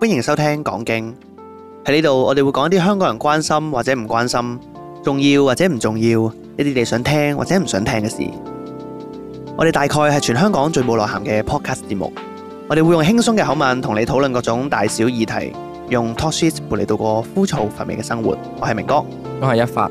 歡迎收聽講經。喺呢度，我哋會講一啲香港人關心或者唔關心，重要或者唔重要，一啲你想聽或者唔想聽嘅事。我哋大概係全香港最冇內涵嘅 podcast 節目。我哋會用輕鬆嘅口吻同你討論各種大小議題，用 talk shit 陪你度過枯燥乏味嘅生活。我係明哥， 我係一發。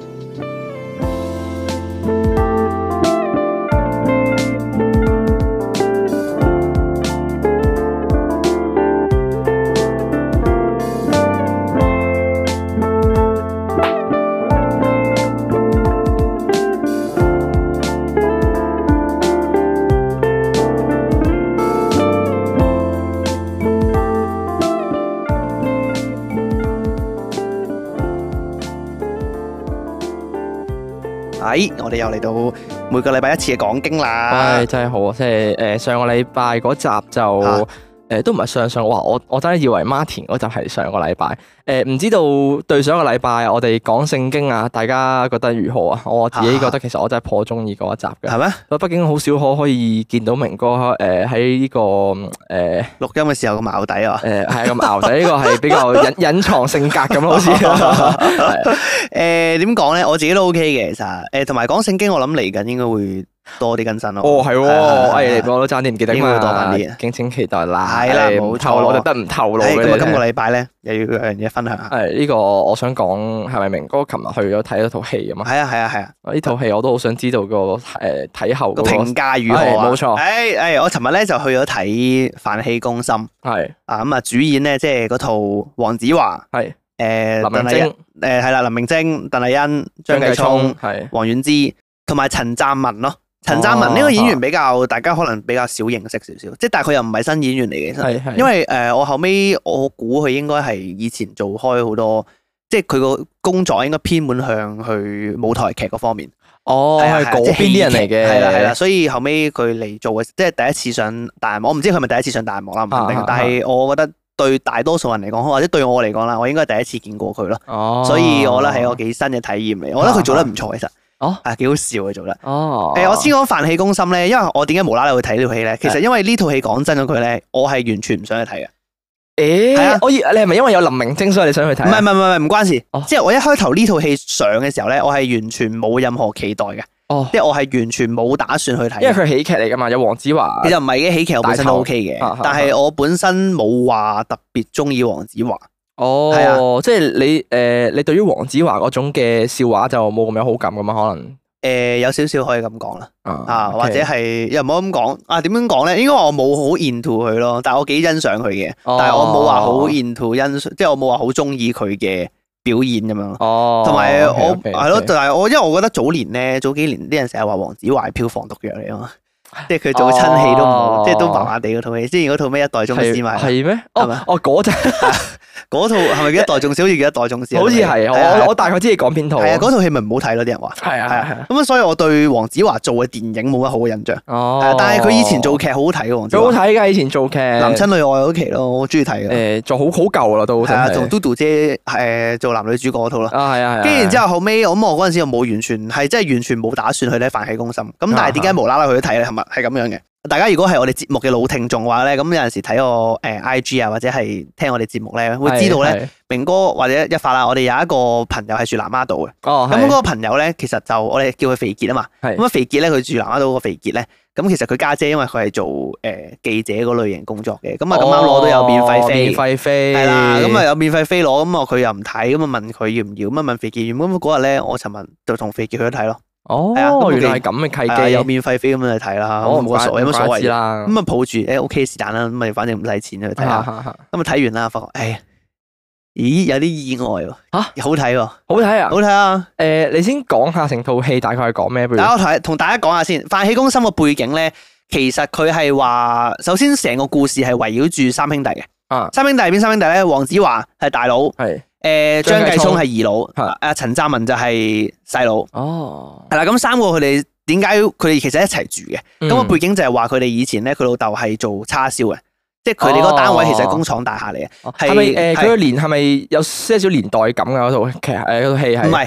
我哋又嚟到每個禮拜一次嘅講經啦。 唉，真係好啊！即係上個禮拜嗰集就都唔係上哇！我真係以為 Martin 嗰集係上個禮拜。唔知道對上個禮拜我哋講聖經啊，大家覺得如何啊？我自己覺得其實我真係頗中意嗰一集嘅。係咩？畢竟好少可以見到明哥喺呢個錄音嘅時候咁淆底啊。 係咁淆底，呢個係比較隱藏性格咁好似。 點講咧？我自己都 OK 嘅，其實同埋講聖經，我諗嚟緊應該會多啲更新咯。 哦，係喎，我都爭啲唔記得， 應該會多翻啲， 敬請期待啦。 係啦，冇錯， 我就得唔透露嘅。 咁啊，今個禮拜咧又要有樣嘢分享下。 係呢個，我想講係咪明哥琴日去咗睇咗套戲啊嘛？ 係啊。 呢套戲我都好想知道個睇後個評價如何啊？ 冇錯。 我尋日咧就去咗睇《飯戲攻心》。 係啊，咁啊，主演咧即係嗰套黃子華。係。 林明禎。 係啦，林明禎、鄧麗欣、張繼聰、王菀之同埋陳湛文咯。陳湛文呢個演員比較大家可能比較少認識少少，即係但係佢又唔係新演員嚟嘅，其實因為我後尾我估佢應該係以前做開好多，即係佢個工作應該偏門向去舞台劇嗰方面。哦，係嗰邊啲人嚟嘅，係啦，所以後尾佢嚟做嘅，即係第一次上大銀幕，我唔知佢係咪第一次上大銀幕啦，唔肯定。但係我覺得對大多數人嚟講，或者對我嚟講啦，我應該係第一次見過佢咯。所以我覺得係個幾新嘅體驗嚟，我覺得佢做得唔錯，其實。幾好笑嘅做得。我先講《飯戲攻心》咧，因為我點解無啦啦會睇呢套戲咧？其實因為呢套戲講真嗰句咧，我係完全唔想去睇嘅。係啊， 你係咪因為有林明禎所以你想去睇？ 唔關事。即係我一開頭呢套戲上嘅時候咧，我係完全冇任何期待嘅。即係我係完全冇打算去睇。因為佢喜劇嚟噶嘛，有黃子華。 其實唔係嘅，喜劇我本身都 OK 嘅，但係我本身冇話特別中意黃子華。 係啊，即係你對於黃子華嗰種嘅笑話就冇咁有好感噶嘛？可能有少少可以咁講啦，或者係又唔好咁講啊？點樣講咧？應該話我冇好 into 佢咯，但係我幾欣賞佢嘅，但係我冇話好 into 即係我冇話好中意佢嘅表演咁樣。同埋我係咯，但係因為我覺得早幾年啲人成日話黃子華係票房毒藥嚟啊嘛。即係佢做親戲都唔好，即係都麻麻地嗰套戲。之前嗰套咩一代宗師嘛？係咩？嗰陣嗰套係咪叫一代宗師？好似叫一代宗師。好似係，我大概知你講邊套。係啊，嗰套戲咪唔好睇咯，啲人話。係。咁所以我對黃子華做嘅電影冇乜好嘅印象。但係佢以前做劇好好睇嘅，黃子華。好睇㗎，以前做劇。男親女愛嗰期咯，我中意睇嘅。做好舊啦都。係啊，同嘟嘟姐做男女主角嗰套啦。係。跟住然之後後尾，我嗰陣時又冇完全冇打算去睇《飯戲攻心》。咁但係點解無啦啦去咗睇咧？係咁樣嘅。大家如果係我哋節目嘅老聽眾嘅話咧，咁有陣時睇我IG 啊，或者係聽我哋節目咧，會知道咧，明哥或者一發啦，我哋有一個朋友係住南丫島嘅。咁嗰個朋友咧，其實就我哋叫佢肥傑啊嘛。咁啊肥傑咧，佢住南丫島個肥傑咧，咁其實佢家姐因為佢係做記者嗰類型工作嘅，咁啊咁啱攞到有免費飛，係啦，咁啊有免費飛攞，咁啊佢又唔睇，咁啊問佢要唔要，咁啊問肥傑，咁嗰日咧，我尋日就同肥傑去咗睇咯。係啊，原來係咁嘅契機，有免費飛咁樣去睇啦，冇乜所謂啦。咁啊抱住OK 是但啦，咁咪反正唔使錢去睇下。咁啊睇完啦，發覺咦有啲意外喎。好睇喎，好睇啊，好睇啊。 你先講下成套戲大概係講咩？ 我同大家講下先，《飯戲攻心》個背景咧，其實佢係話，首先成個故事係圍繞住三兄弟嘅。三兄弟係邊三兄弟咧？黃子華係大佬。張繼聰係二佬，陳湛文就係細佬。係啦，咁三個佢哋點解佢哋其實一齊住嘅？咁個背景就係話佢哋以前咧，佢老豆係做叉燒嘅，即係佢哋嗰個單位其實係工廠大廈嚟嘅。係咪佢個年係咪有些少年代感㗎？嗰套劇嗰套戲係唔係？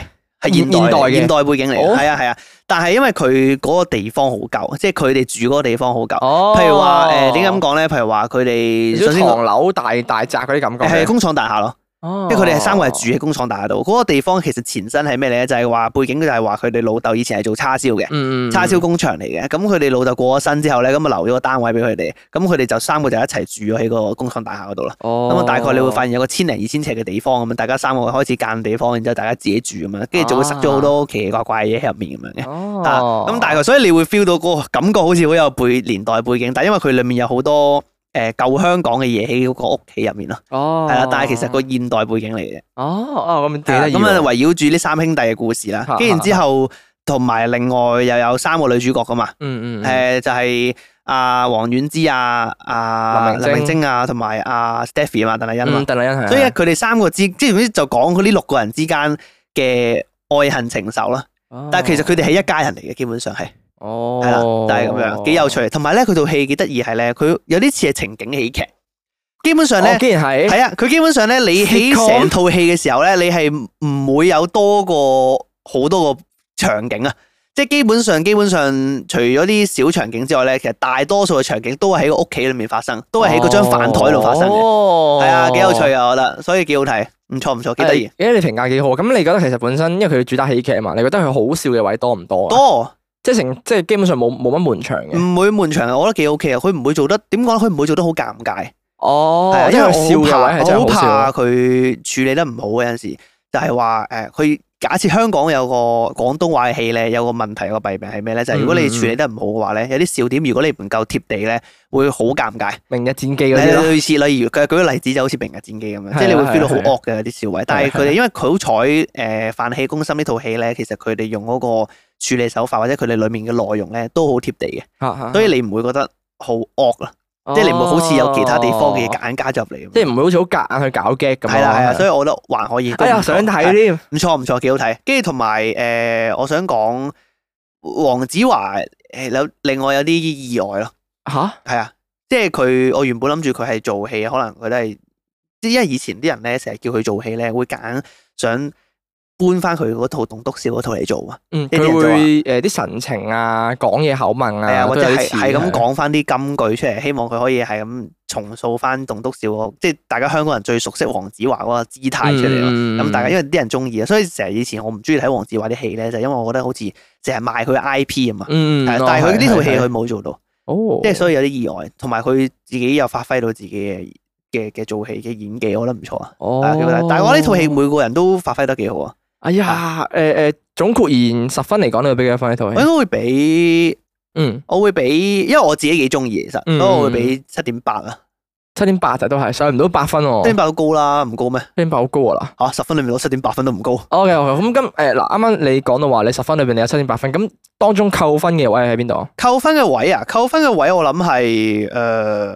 係現代背景嚟嘅，係啊。但係因為佢嗰個地方好舊，即係佢哋住嗰個地方好舊。譬如話點解咁講咧？譬如話佢哋首先唐樓大宅嗰啲感覺， 係工廠大廈咯。因為佢哋係3個係住喺工廠大廈度，嗰個地方其實前身係咩嚟咧？就係話背景就係話佢哋老豆以前係做叉燒嘅，叉燒工場嚟嘅。咁佢哋老豆過咗身之後咧，咁啊留咗個單位俾佢哋，咁佢哋就3個就一齊住咗喺個工廠大廈嗰度啦。咁啊大概你會發現有個1000零2000尺嘅地方咁樣，大家3個開始間地方，然之後大家自己住咁樣，跟住就會塞咗好多奇奇怪怪嘅嘢喺入面咁樣嘅。咁大概所以你會 feel 到嗰個感覺好似好有年代背景，但係因為佢裡面有好多舊香港嘅嘢喺嗰個屋企入面咯，係啦，但係其實個現代背景嚟嘅。 咁幾得意。 咁啊，圍繞住呢3兄弟嘅故事啦，跟住之後同埋另外又有3個女主角噶嘛，就係阿黃婉之林明禎啊，同埋阿 Stephy 啊嘛，鄧麗欣啊嘛， 鄧麗欣係。所以佢哋3個即係就講佢呢6個人之間嘅愛恨情仇啦。但係其實佢哋係一家人嚟嘅，基本上係。係啦，就係咁樣，幾有趣。同埋咧，佢套戲幾得意係咧，佢有啲似係情景喜劇。基本上咧， 既然係啊，佢基本上咧，你喺成套戲嘅時候咧，你係唔會有多過好多個場景啊。即係基本上，除咗啲小場景之外咧，其實大多數嘅場景都係喺個屋企裏面發生，都係喺嗰張飯台度發生嘅。係啊，幾有趣啊，我覺得，所以幾好睇，唔錯，幾得意。 你評價幾好。咁你覺得其實本身，因為佢主打喜劇啊嘛，你覺得佢好笑嘅位多唔多啊？ 多。即係基本上冇乜悶場嘅， 唔會悶場，我覺得幾 OK 啊！佢唔會做得點講咧？佢唔會做得好尷尬。 因為笑嘅位係真係好笑。 我好怕佢處理得唔好嘅，有陣時就係話佢假設香港有個廣東話嘅戲咧，有個問題，有個弊病係咩咧？就係如果你處理得唔好嘅話咧，有啲笑點如果你唔夠貼地咧，會好尷尬。 明日戰記嗰啲咯， 類似例如佢舉個例子就好似明日戰記咁樣，即係你會 feel 到好惡嘅有啲笑位。但係佢哋因為佢好彩飯戲攻心呢套戲咧，其實佢哋用嗰個處理手法或者佢哋裡面嘅內容咧都好貼地嘅，所以你唔會覺得好惡啦，即係你唔會好似有其他地方嘅嘢夾硬加入嚟， 即係唔會好似好夾硬去搞 gag 咁。 係啦，所以我覺得還可以。 想睇添， 唔錯，幾好睇。跟住同埋我想講黃子華另外有啲意外咯。係啊，即係我原本諗住佢係做戲，可能佢都係，因為以前啲人咧成日叫佢做戲咧，會夾硬想搬翻佢嗰套《棟篤笑》嗰套嚟做啊， 佢會啲神情啊、講嘢口吻啊， 或者係咁講翻啲金句出嚟，希望佢可以係咁重塑翻棟篤笑，即係大家香港人最熟悉黃子華嗰個姿態出嚟咯。咁大家因為啲人中意啊，所以成日以前我唔中意睇黃子華啲戲咧，就因為我覺得好似成日賣佢 IP 啊嘛。但係佢呢套戲佢冇做到，即係所以有啲意外，同埋佢自己又發揮到自己嘅做戲嘅演技，我覺得唔錯啊。但係我呢套戲每個人都發揮得幾好啊。 哎呀，總括而言10分嚟講，你會俾幾多分呢套戲？ 我應該會俾，我會俾，因為我自己幾中意其實，所以我會俾7.8啊。 7.8就都係上唔到8分喎。7.8 都高啦，唔高咩 ？7.8好高啊嗱。 10分裏面攞7.8分都唔高。 OK，咁啱啱你講到話你10分裏邊你有7.8分，咁當中扣分嘅位喺邊度？ 扣分嘅位我諗係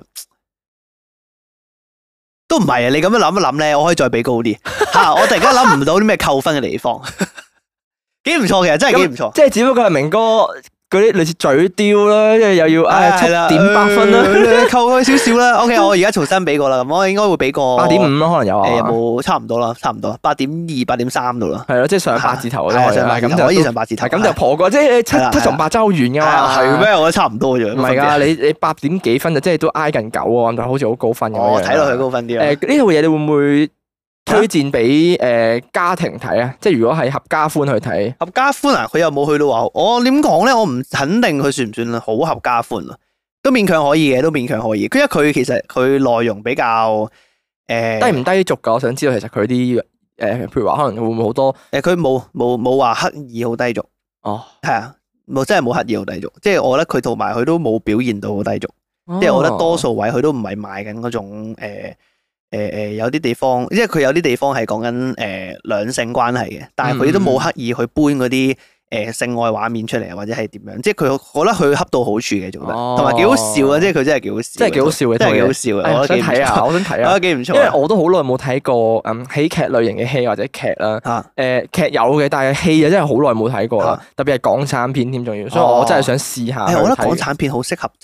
都唔係啊！你咁樣諗一諗咧，我可以再俾高啲吓。我突然間諗唔到啲咩扣分嘅地方，幾唔錯，其實真係幾唔錯。 即係只不過係明哥嗰啲類似嘴刁啦，即係又要7.8分啦， 扣佢少少啦。OK，我而家重新俾過啦，咁我應該會俾個 8.5咯，可能有啊。 有冇差唔多啦？差唔多8.2、8.3度啦。 係咯，即係上8字頭啦。 咁就可以上8字頭， 咁就破過，即係七同8爭好遠噶嘛。 係咩？我覺得差唔多啫。 唔係噶，你8點幾分就即係都挨近9喎，就好似好高分咁樣。 睇落去高分啲。 呢套嘢你會唔會推薦俾家庭睇啊？即係如果係合家歡去睇， 合家歡啊，佢又冇去到話，我點講咧？我唔肯定佢算唔算好合家歡啊？都勉強可以嘅，都勉強可以。因為佢其實佢內容比較低唔低俗噶？我想知道其實佢啲譬如話可能會唔會好多佢冇話刻意好低俗。係啊，真係冇刻意好低俗。即係我覺得佢同埋佢都冇表現到好低俗。即係我覺得多數位佢都唔係賣緊嗰種有啲地方，因為佢有啲地方係講緊兩性關係嘅，但係佢都冇刻意去搬嗰啲性愛畫面出嚟，或者係點樣，即係佢覺得佢恰到好處嘅做得，同埋幾好笑啊！即係佢真係幾好笑， 真係幾好笑嘅， 真係幾好笑嘅。我想睇啊，我覺得幾唔錯。 因為我都好耐冇睇過喜劇類型嘅戲或者劇啦。劇有嘅，但係戲就真係好耐冇睇過啦。特別係港產片添，仲要，所以我真係想試下。 我覺得港產片好適合，即係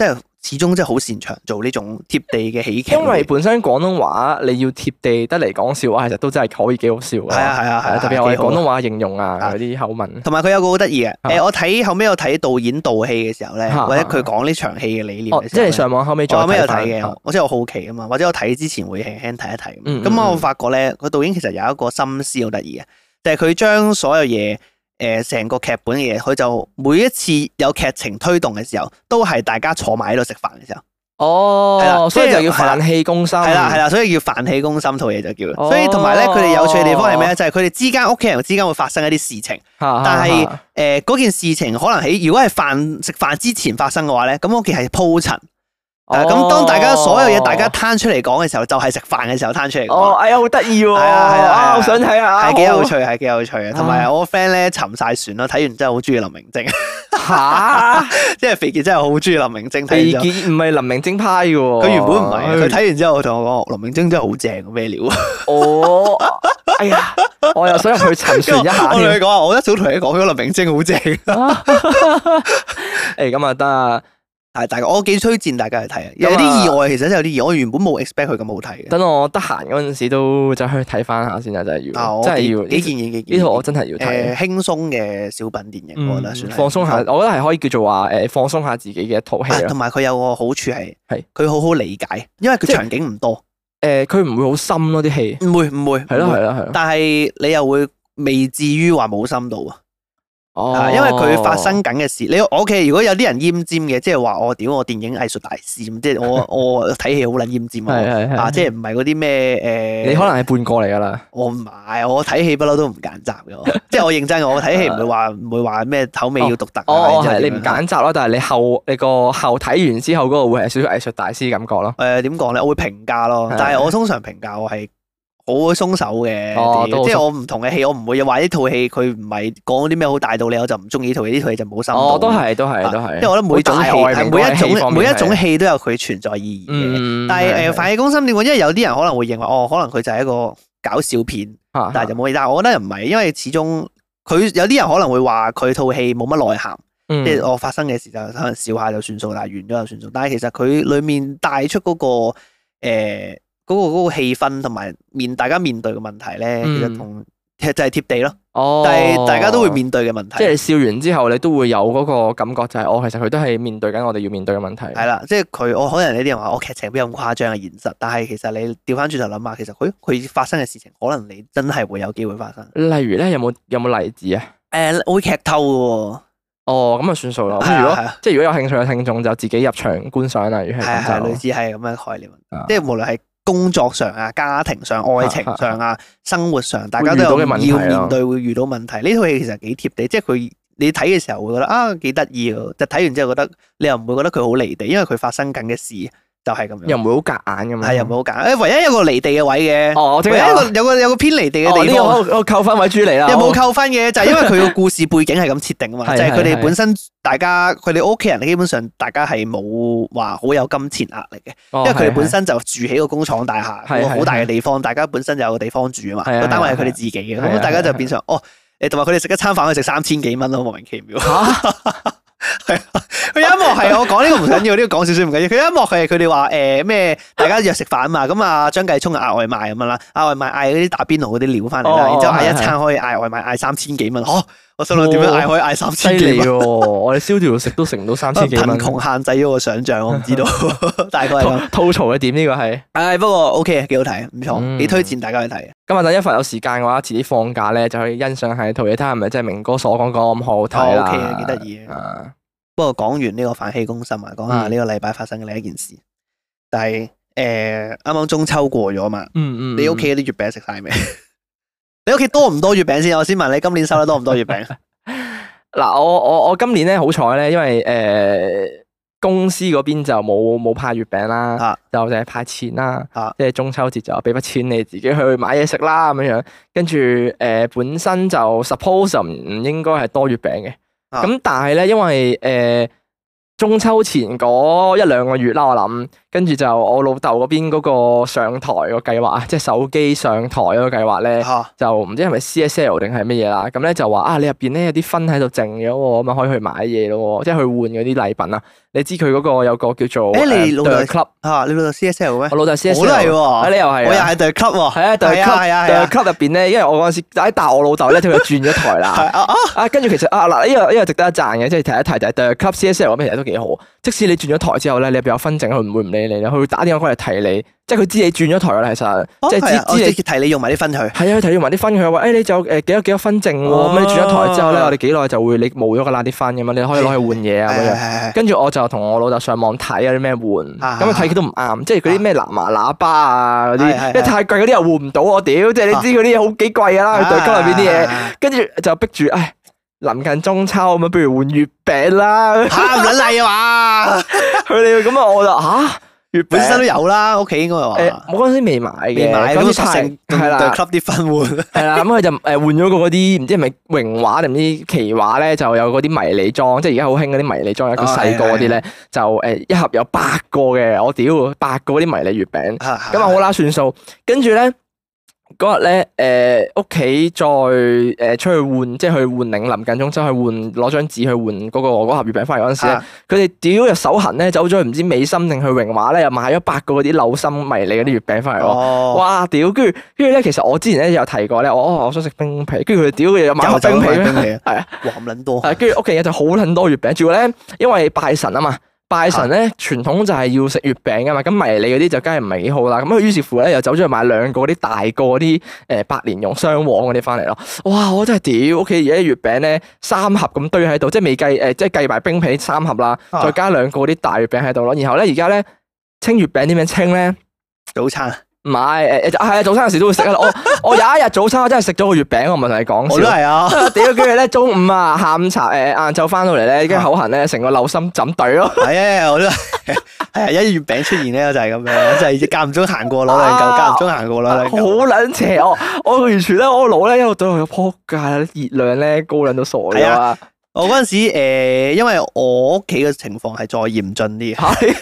始終真係好擅長做呢種貼地嘅喜劇。 因為本身廣東話你要貼地得嚟講笑話，其實都真係可以幾好笑嘅。 係啊， 特別係我哋廣東話形容啊嗰啲口吻。 同埋佢有個好得意嘅，我後尾我睇導演導戲嘅時候咧，或者佢講呢場戲嘅理念嘅時候， 即係上網後尾再有睇嘅，我真係好奇啊嘛，或者我睇之前會輕輕睇一睇。咁我發覺咧，個導演其實有一個心思好得意嘅，就係佢將所有嘢。成個劇本嘅嘢，佢就每一次有劇情推動嘅時候，都係大家坐埋喺度食飯嘅時候。 哦，係啦，所以就要飯氣攻心。係啦，所以叫飯氣攻心套嘢就叫。所以同埋咧，佢哋有趣嘅地方係咩咧？就係佢哋之間屋企人之間會發生一啲事情，但係嗰件事情可能如果係食飯之前發生嘅話咧，咁屋企係鋪陳。咁當大家所有嘢大家攤出嚟講嘅時候，就係食飯嘅時候攤出嚟講。 哎呀，好得意喎！係啊， 好想睇啊！ 係幾有趣，係幾有趣嘅。同埋我個 friend 咧沉晒船咯，睇完真係好中意林明禎。 吓， 即係肥傑真係好中意林明禎。 肥傑唔係林明禎派嘅喎， 佢原本唔係。佢睇完之後同我講，林明禎真係好正，咩料？ 哎呀，我又想入去沉船一下。 我同你講，我一早同你講咗林明禎好正。 咁啊得啊！ 係，我幾推薦大家去睇啊！有啲意外，其實真係有啲意外。我原本冇 expect 佢咁好睇嘅。 等我得閒嗰陣時都走去睇翻下先啊！真係要，真係要。 幾建議呢套我真係要睇。 輕鬆嘅小品電影，我覺得算係放鬆下。我覺得係可以叫做話放鬆下自己嘅一套戲。 同埋佢有個好處係佢好好理解，因為佢場景唔多。 佢唔會好深咯啲戲。唔會。係咯。 但係你又會未至於話冇深度啊。因為佢發生緊嘅事，我屋企如果有啲人奄尖嘅，即係話我電影藝術大師咁，即係我睇戲好撚奄尖啊！即係唔係嗰啲咩你可能係半個嚟噶啦。 我唔係，我睇戲不嬲都唔揀擇嘅，即係我認真，我睇戲唔會話咩口味要獨特。 你唔揀擇咯，但係你個後睇完之後嗰個會係少少藝術大師感覺咯。 點講咧？我會評價咯，但係我通常評價我係。好鬆手嘅，即係我唔同嘅戲，我唔會話呢套戲佢唔係講啲咩好大道理，我就唔中意呢套戲。呢套戲就冇深度。 都係。 因為我覺得每種戲，每一種戲都有佢存在意義嘅。但係飯氣攻心點講？因為有啲人可能會認為可能佢就係一個搞笑片，但係就冇。但係我覺得又唔係，因為始終佢有啲人可能會話佢套戲冇乜內涵，即係我發生嘅事就可能笑下就算數，但係完咗就算數。但係其實佢裡面帶出嗰個嗰個氣氛同埋大家面對嘅問題咧，其實就係貼地咯。但係大家都會面對嘅問題。 即係笑完之後，你都會有嗰個感覺，就係其實佢都係面對緊我哋要面對嘅問題。係啦，即係可能有啲人話劇情邊有咁誇張嘅現實，但係其實你調翻轉頭諗下，其實佢發生嘅事情，可能你真係會有機會發生。例如咧，有冇例子啊？ 會劇透嘅喎。 咁啊算數啦。咁如果有興趣嘅聽眾就自己入場觀賞啦。如係類似係咁嘅概念，即係無論係工作上啊、家庭上、愛情上啊、生活上，大家都有要面對會遇到問題。呢套戲其實幾貼地，即係你睇嘅時候會覺得幾得意喎。就睇完之後覺得你又唔會覺得佢好離地，因為佢發生緊嘅事就係咁樣。 又唔會好夾硬咁樣。 係又唔會好夾硬。唯一一個離地嘅位嘅，唯一有個偏離地嘅地方。 我扣分位豬嚟啦。 有冇扣分嘅？就係因為佢個故事背景係咁設定啊嘛，就係佢哋本身佢哋屋企人基本上大家係冇話好有金錢壓力嘅，因為佢哋本身就住喺個工廠大廈，個好大嘅地方，大家本身就有個地方住啊嘛，個單位係佢哋自己嘅，咁大家就變成同埋佢哋食一餐飯可以食3000幾蚊咯，莫名其妙。係佢有一幕係我講呢個唔緊要，呢個講少少唔緊要。佢有一幕係佢哋話咩？大家約食飯啊嘛，咁啊張繼聰嗌外賣咁樣啦，嗌外賣嗌嗰啲打邊爐嗰啲料翻嚟啦，然之後嗌一餐可以嗌外賣嗌3000幾蚊，我心諗點樣嗌可以嗌3000幾蚊？ 我哋燒條食都食唔到3000幾蚊。 貧窮限制咗我想象，我唔知道大概係咁。 吐槽嘅點呢個係？ 不過 OK 幾好睇，唔錯，幾推薦大家去睇。 今日等一發有時間嘅話，遲啲放假咧就可以欣賞下套嘢，睇下係咪真係明哥所講咁好睇啦。 OK 幾得意啊！不過講完呢個飯氣攻心啊，講下呢個禮拜發生嘅另一件事，但係啱啱中秋過咗嘛，你屋企啲月餅食晒未？你屋企多唔多月餅先？我先問你，今年收得多唔多月餅？ 嗱，我今年咧好彩咧，因為公司嗰邊就冇派月餅啦，就淨係派錢啦，即係中秋節就俾筆錢你自己去買嘢食啦咁樣樣，跟住本身就 suppose 唔應該係多月餅嘅。咁但係咧，因為中秋前嗰1-2個月啦，我諗跟住就我老豆嗰邊嗰個上台個計劃啊，即係手機上台嗰個計劃咧，就唔知係咪 CSL 定係乜嘢啦。咁咧就話啊，你入邊咧有啲分喺度剩咗喎，咁啊可以去買嘢咯，即係去換嗰啲禮品啊。你知佢嗰個有個叫做你老豆 club 嚇，你老豆 CSL 咩？ 我老豆 CSL， 我都係喎， 你又係， 我又係 The Club 喎， 係啊 The Club 入邊咧，因為我嗰陣時但係我老豆咧，佢就轉咗台啦。跟住其實嗱呢個值得一讚嘅，即係提一提就係 The Club CSL 嗰邊其實都幾好。即使你轉咗台之後咧，你入邊有分證，佢唔會唔理你，佢會打電話過嚟提你，即係佢知你轉咗台啦。其實即係知你提你用埋啲分去。係啊，佢提你用埋啲分，佢話你就有幾多分證喎，咁你轉咗台之後咧，我哋幾耐就會你冇咗個啲分咁嘛，你可以攞去換嘢啊咁樣。跟住我就同我老豆上網睇有啲咩換，咁啊睇佢都唔啱，即係嗰啲咩藍牙喇叭啊嗰啲，因為太貴嗰啲又換唔到我屌，即係你知嗰啲嘢好幾貴㗎啦，佢對金入邊啲嘢，跟住就逼住臨近中秋咁啊，不如換月餅啦嚇，唔撚嚟啊嘛！ 佢哋咁啊，我就月餅本身都有啦，屋企應該係話。 我嗰陣時未買嘅，嗰陣時係啦， 對 club 啲分換。係啦，咁佢就換咗個嗰啲唔知係咪榮華定唔知奇華咧，就有嗰啲迷你裝，即係而家好興嗰啲迷你裝，一個細個嗰啲咧，就一盒有8個嘅，我屌8個嗰啲迷你月餅，咁啊好啦算數，跟住咧。嗰日咧，屋企再出去換，即係去換領臨近中秋去換，攞張紙去換嗰盒月餅翻嚟嗰陣時咧，佢哋屌又手痕咧，走咗去唔知美心定去榮華咧，又買咗8個嗰啲柳心迷你嗰啲月餅翻嚟喎。哇！屌，跟住咧，其實我之前咧有提過咧，我想食冰皮，跟住佢哋屌佢又買個冰皮咧，係啊， 哇咁撚多。 跟住屋企人就好撚多月餅，仲要咧，因為拜神啊嘛。拜神咧，傳統就係要食月餅噶嘛，咁迷你嗰啲就梗係唔係幾好啦。咁佢於是乎咧，又走咗去買2個嗰啲大個嗰啲百年用雙黃嗰啲翻嚟咯。哇！我真係屌，屋企而家啲月餅咧3盒咁堆喺度，即係未計即係計埋冰皮3盒啦，再加2個嗰啲大月餅喺度咯。然後咧，而家咧清月餅點樣清咧？早餐。唔係係啊！早餐有時都會食啊！我有一日早餐我真係食咗個月餅，我唔係同你講笑。我都係啊！屌，跟住咧中午啊，下午茶晏晝翻到嚟咧，跟住口痕咧，成個柳心枕對咯。係啊，我都係啊！一月餅出現咧就係咁樣，就係間唔中行過攞2嚿，間唔中行過攞2嚿。好撚邪！我完全咧，我腦咧一路對我仆街，熱量咧高撚到傻咗啊！我嗰陣時因為我屋企嘅情況係再嚴峻啲。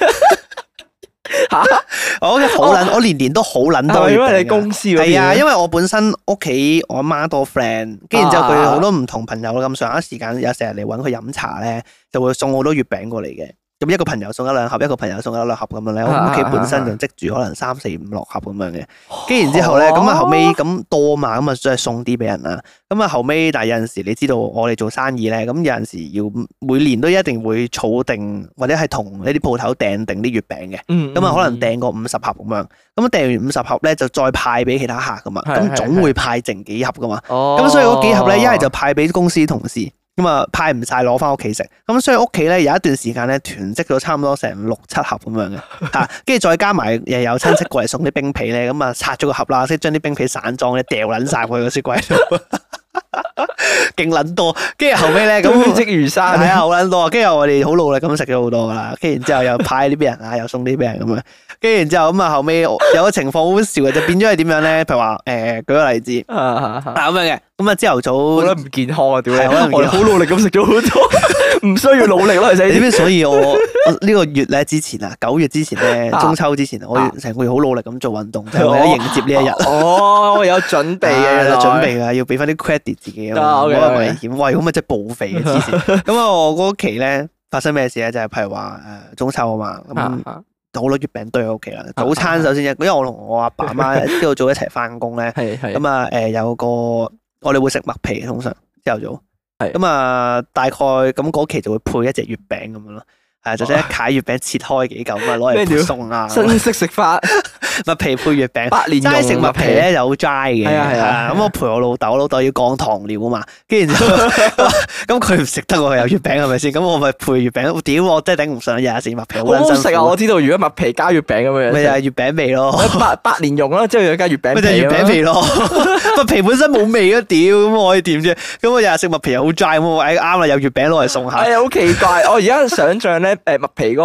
我屋企好撚，我年年都好撚多月餅。因為你公司係啊，因為我本身屋企我阿媽多 friend，跟住然之後佢好多唔同朋友咁上下時間，有成日嚟搵佢飲茶咧，就會送好多月餅過嚟嘅。咁一個朋友送1-2盒，一個朋友送1-2盒咁樣咧。我屋企本身就積住可能3、4、5、6盒咁樣嘅。跟住然之後咧，咁啊後尾咁多嘛，咁啊再送啲俾人啦。咁啊後尾，但係有陣時你知道我哋做生意咧，咁有陣時要每年都一定會儲定或者係同呢啲鋪頭訂定啲月餅嘅。咁啊可能訂個50盒咁樣。咁訂完50盒咧，就再派俾其他客噶嘛。咁總會派剩幾盒噶嘛。咁所以嗰幾盒咧，一係就派俾公司同事。咁啊派唔晒攞翻屋企食，咁所以屋企咧有一段時間咧囤積咗差唔多成6、7盒咁樣嘅嚇，跟住再加埋又有親戚過嚟送啲冰皮咧，咁啊拆咗個盒啦，即係將啲冰皮散裝咧掉撚晒去個雪櫃度，勁撚多。跟住後尾咧咁積如山，係啊好撚多。跟住我哋好努力咁食咗好多噶啦，跟住然之後又派啲俾人啊，又送啲俾人咁樣。跟住然之後咁啊後尾有個情況好笑嘅，就變咗係點樣咧？譬如話舉個例子咁樣嘅。咁啊，朝頭早我覺得唔健康啊，屌！我哋好努力咁食咗好多，唔需要努力咯，其實。點解？所以我呢個月咧之前啊，9月之前咧，中秋之前，我成個月好努力咁做運動，就係為咗迎接呢一日。哦，我有準備嘅，有準備嘅，要俾翻啲 credit 自己啊，冇咁危險。喂，咁咪即係報肥嘅之前。咁啊，我嗰期咧發生咩事咧？就係譬如話中秋啊嘛，咁好多月餅堆喺屋企啦。早餐首先因為我同我阿爸阿媽朝頭早一齊翻工咧，咁啊有個。我哋會食麥皮，通常朝頭早，咁啊大概咁嗰期就會配一隻月餅咁樣咯，係就將一塊月餅切開幾嚿咁啊攞嚟配餸啊，新式食法，麥皮配月餅，齋食麥皮咧就好 dry 嘅，係啊，咁我陪我老豆，我老豆要降糖尿啊嘛，跟住咁佢唔食得喎，有月餅係咪先？咁我咪配月餅，屌我真係頂唔順，日日食麥皮好好食啊！我知道如果麥皮加月餅咁樣，咪就係月餅味咯，百年蓉啦，之後再加月餅，咪就係月餅味咯。麥皮本身冇味啊，屌咁我可以點啫？咁我日日食麥皮又好 dry，咁我啱啦，有月餅攞嚟送下。係啊，好奇怪！我而家想象咧，麥皮嗰個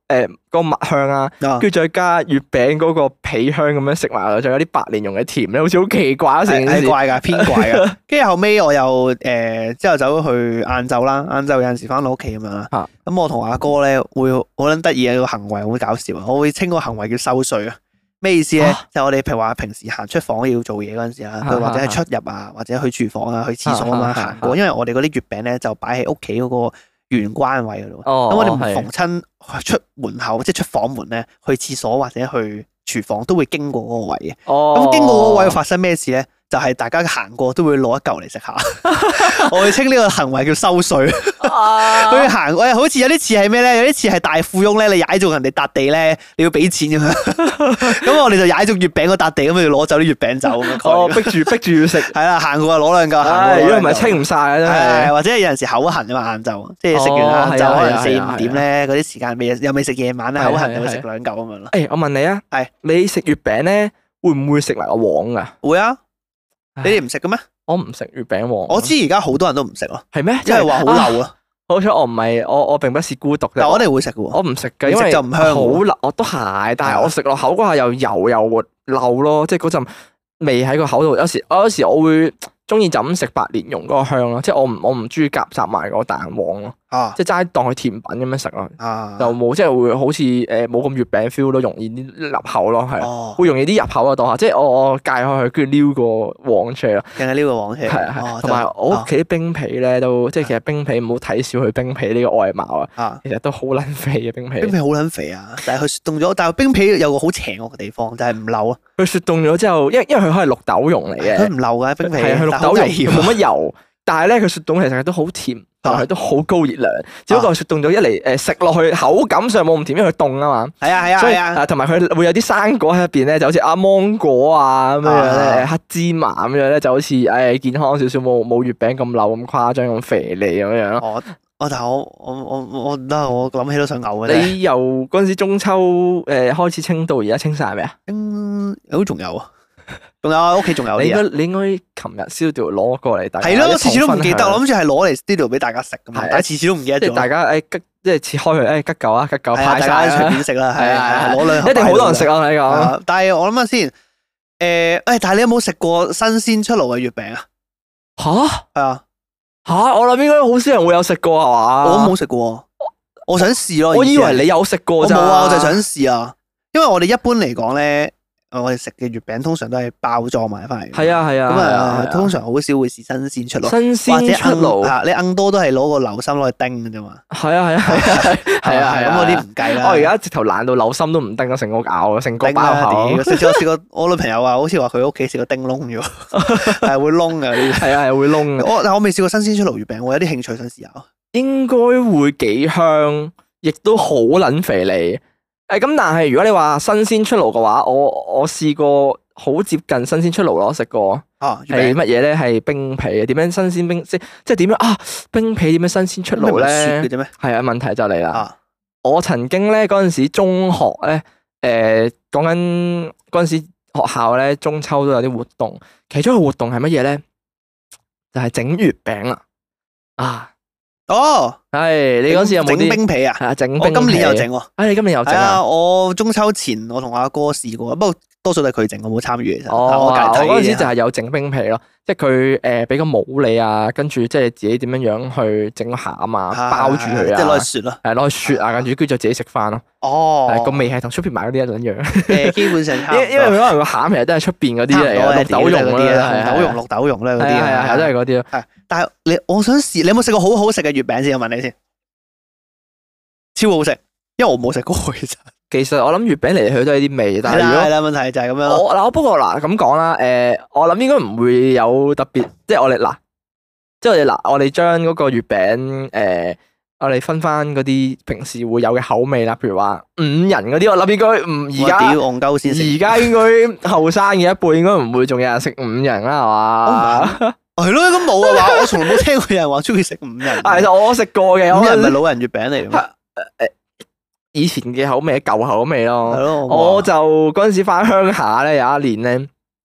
個蜜香啊，跟住再加月餅嗰個皮香咁樣食埋，仲有啲白蓮蓉嘅甜咧，好似好奇怪啊！成件事怪㗎，偏怪㗎。跟住後尾我又之後走咗去晏晝啦，晏晝有陣時翻到屋企咁樣啦。咁我同阿哥咧會好撚得意嘅個行為，好搞笑啊！我會稱個行為叫收稅啊。咩意思咧？就我哋譬如話平時行出房要做嘢嗰陣時啦，或者係出入啊，或者去廚房啊、去廁所咁樣行過，因為我哋嗰啲月餅咧就擺喺屋企嗰個玄關位嗰度。咁我哋唔逢親出門口，即係出房門咧，去廁所或者去廚房都會經過嗰個位嘅。咁經過嗰個位會發生咩事咧？就係大家行過都會攞一嚿嚟食下，我會稱呢個行為叫收稅。佢行好似有啲似係咩咧？有啲似係大富翁咧，你踩中人哋笪地咧，你要俾錢咁樣。咁我哋就踩中月餅嗰笪地，咁就攞走啲月餅走咁樣。逼住要食。係啦，行過攞兩嚿。如果唔係清唔晒啊，真係。或者有陣時口痕啊嘛，晏晝即係食完晏晝可能4-5點咧，嗰啲時間又未食夜晚咧，口痕就會食兩嚿咁樣咯。 我問你啊，你食月餅咧會唔會食埋個黃噶？ 會啊。你哋唔食嘅咩？我唔食月餅黃。 我知而家好多人都唔食咯。 係咩？ 因為話好漏啊。 好彩我唔係，我並不是孤獨嘅。 但我哋會食嘅喎。 我唔食嘅，因為就唔香。 好辣，我都係，但係我食落口嗰下又油又漏咯，即係嗰陣味喺個口度。有時我會中意就咁食白蓮蓉嗰個香咯，即係我唔中意夾雜埋個蛋黃咯。即係齋當佢甜品咁樣食咯。就冇即係會好似冇咁月餅 feel 咯，容易啲入口咯，係會容易啲入口啊當下。即係我戒開佢，跟住撩個黃出嚟咯。 淨係撩個黃出嚟。 係同埋我屋企啲冰皮咧都即係其實冰皮唔好睇小佢冰皮呢個外貌啊。其實都好撚肥嘅冰皮。 冰皮好撚肥啊！但係佢雪凍咗，但係冰皮有個好邪惡嘅地方就係唔漏啊。 佢雪凍咗之後，因為佢係綠豆蓉嚟嘅。佢唔漏嘅冰皮。 係綠豆蓉，冇乜油。但係咧，佢雪凍其實都好甜，但係都好高熱量。只不過雪凍咗一嚟食落去口感上冇咁甜，因為佢凍啊嘛。係啊。同埋佢會有啲生果喺入邊咧，就好似芒果啊咁樣咧，黑芝麻咁樣咧，就好似健康少少，冇月餅咁漏咁誇張咁肥膩咁樣咯。 但係我諗起都想嘔嘅。 你由嗰陣時中秋開始清到而家清晒未啊？ 都仲有啊。仲有啊，屋企仲有啲啊！ 你應該琴日 studio 攞過嚟，大家係咯，次次都唔記得，我諗住係攞嚟 studio 俾大家食噶嘛，但係次次都唔記得咗。 大家即係切開佢，吉嚿啊，吉嚿派晒， 大家隨便食啦，係攞兩盒， 一定好多人食啊！你講， 但係我諗下先，但係你有冇食過新鮮出爐嘅月餅啊？ 吓？係啊， 我諗應該好少人會有食過係嘛？ 我冇食過，我想試咯。 我以為你有食過咋？ 冇啊，我就想試啊，因為我哋一般嚟講咧。我哋食嘅月餅通常都係包裝埋翻嚟。係啊。 咁通常好少會試新鮮出爐。 新鮮出爐， 你硬多都係攞個流心攞去叮嘅啫嘛。 係啊。 咁嗰啲唔計啦。 我而家直頭懶到流心都唔叮咗，成個咬，成個包口。 我試過，我女朋友話好似話佢屋企試過叮窿咗，係會窿嘅。 係會窿嘅。 但我未試過新鮮出爐月餅，我有啲興趣想試下。 應該會幾香，亦都好撚肥膩。咁但係如果你話新鮮出爐嘅話，我試過好接近新鮮出爐咯，食過係乜嘢咧？係冰皮嘅，點樣新鮮冰即係點樣啊？冰皮點樣新鮮出爐咧？ 雪嘅啫咩？ 係啊，問題就嚟啦。我曾經咧嗰陣時中學咧，講緊嗰陣時學校咧中秋都有啲活動，其中一個活動係乜嘢咧？就係整月餅啦。係你嗰時有冇啲整冰皮啊？ 係啊，整冰皮。 我今年又整喎。 你今年又整啊？ 我中秋前我同阿哥試過，不過多數都係佢整，我冇參與其實。 我嗰陣時就係有整冰皮咯，即係佢俾個帽你啊，跟住即係自己點樣樣去整個餡啊，包住佢啊， 即係攞去雪咯。 係攞去雪啊，跟住就自己食翻咯。個味係同出邊買嗰啲一樣。 基本上因為佢可能個餡其實都係出邊嗰啲嚟嘅，綠豆蓉嗰啲啊， 綠豆蓉咧嗰啲係都係嗰啲咯。 但係我想試，你有冇食過好好食嘅月餅先？我問你先，超好食，因為我冇食過其實。 其實我諗月餅嚟嚟去去都係啲味，但係係啦，問題就係咁樣咯。 不過咁講啦，我諗應該唔會有特別，即係我哋將嗰個月餅我哋分翻嗰啲平時會有嘅口味啦，譬如話5仁嗰啲，我諗應該而家戇鳩先食。 而家應該後生嘅一輩應該唔會仲有人食5仁啦，係嘛？ 係咯，咁冇啊嘛，我從來冇聽過有人話中意食5仁。 其實我食過嘅，5 仁咪老人月餅嚟嘅。 以前嘅口味，舊口味咯。 係咯。 我就嗰陣時翻鄉下咧，有一年咧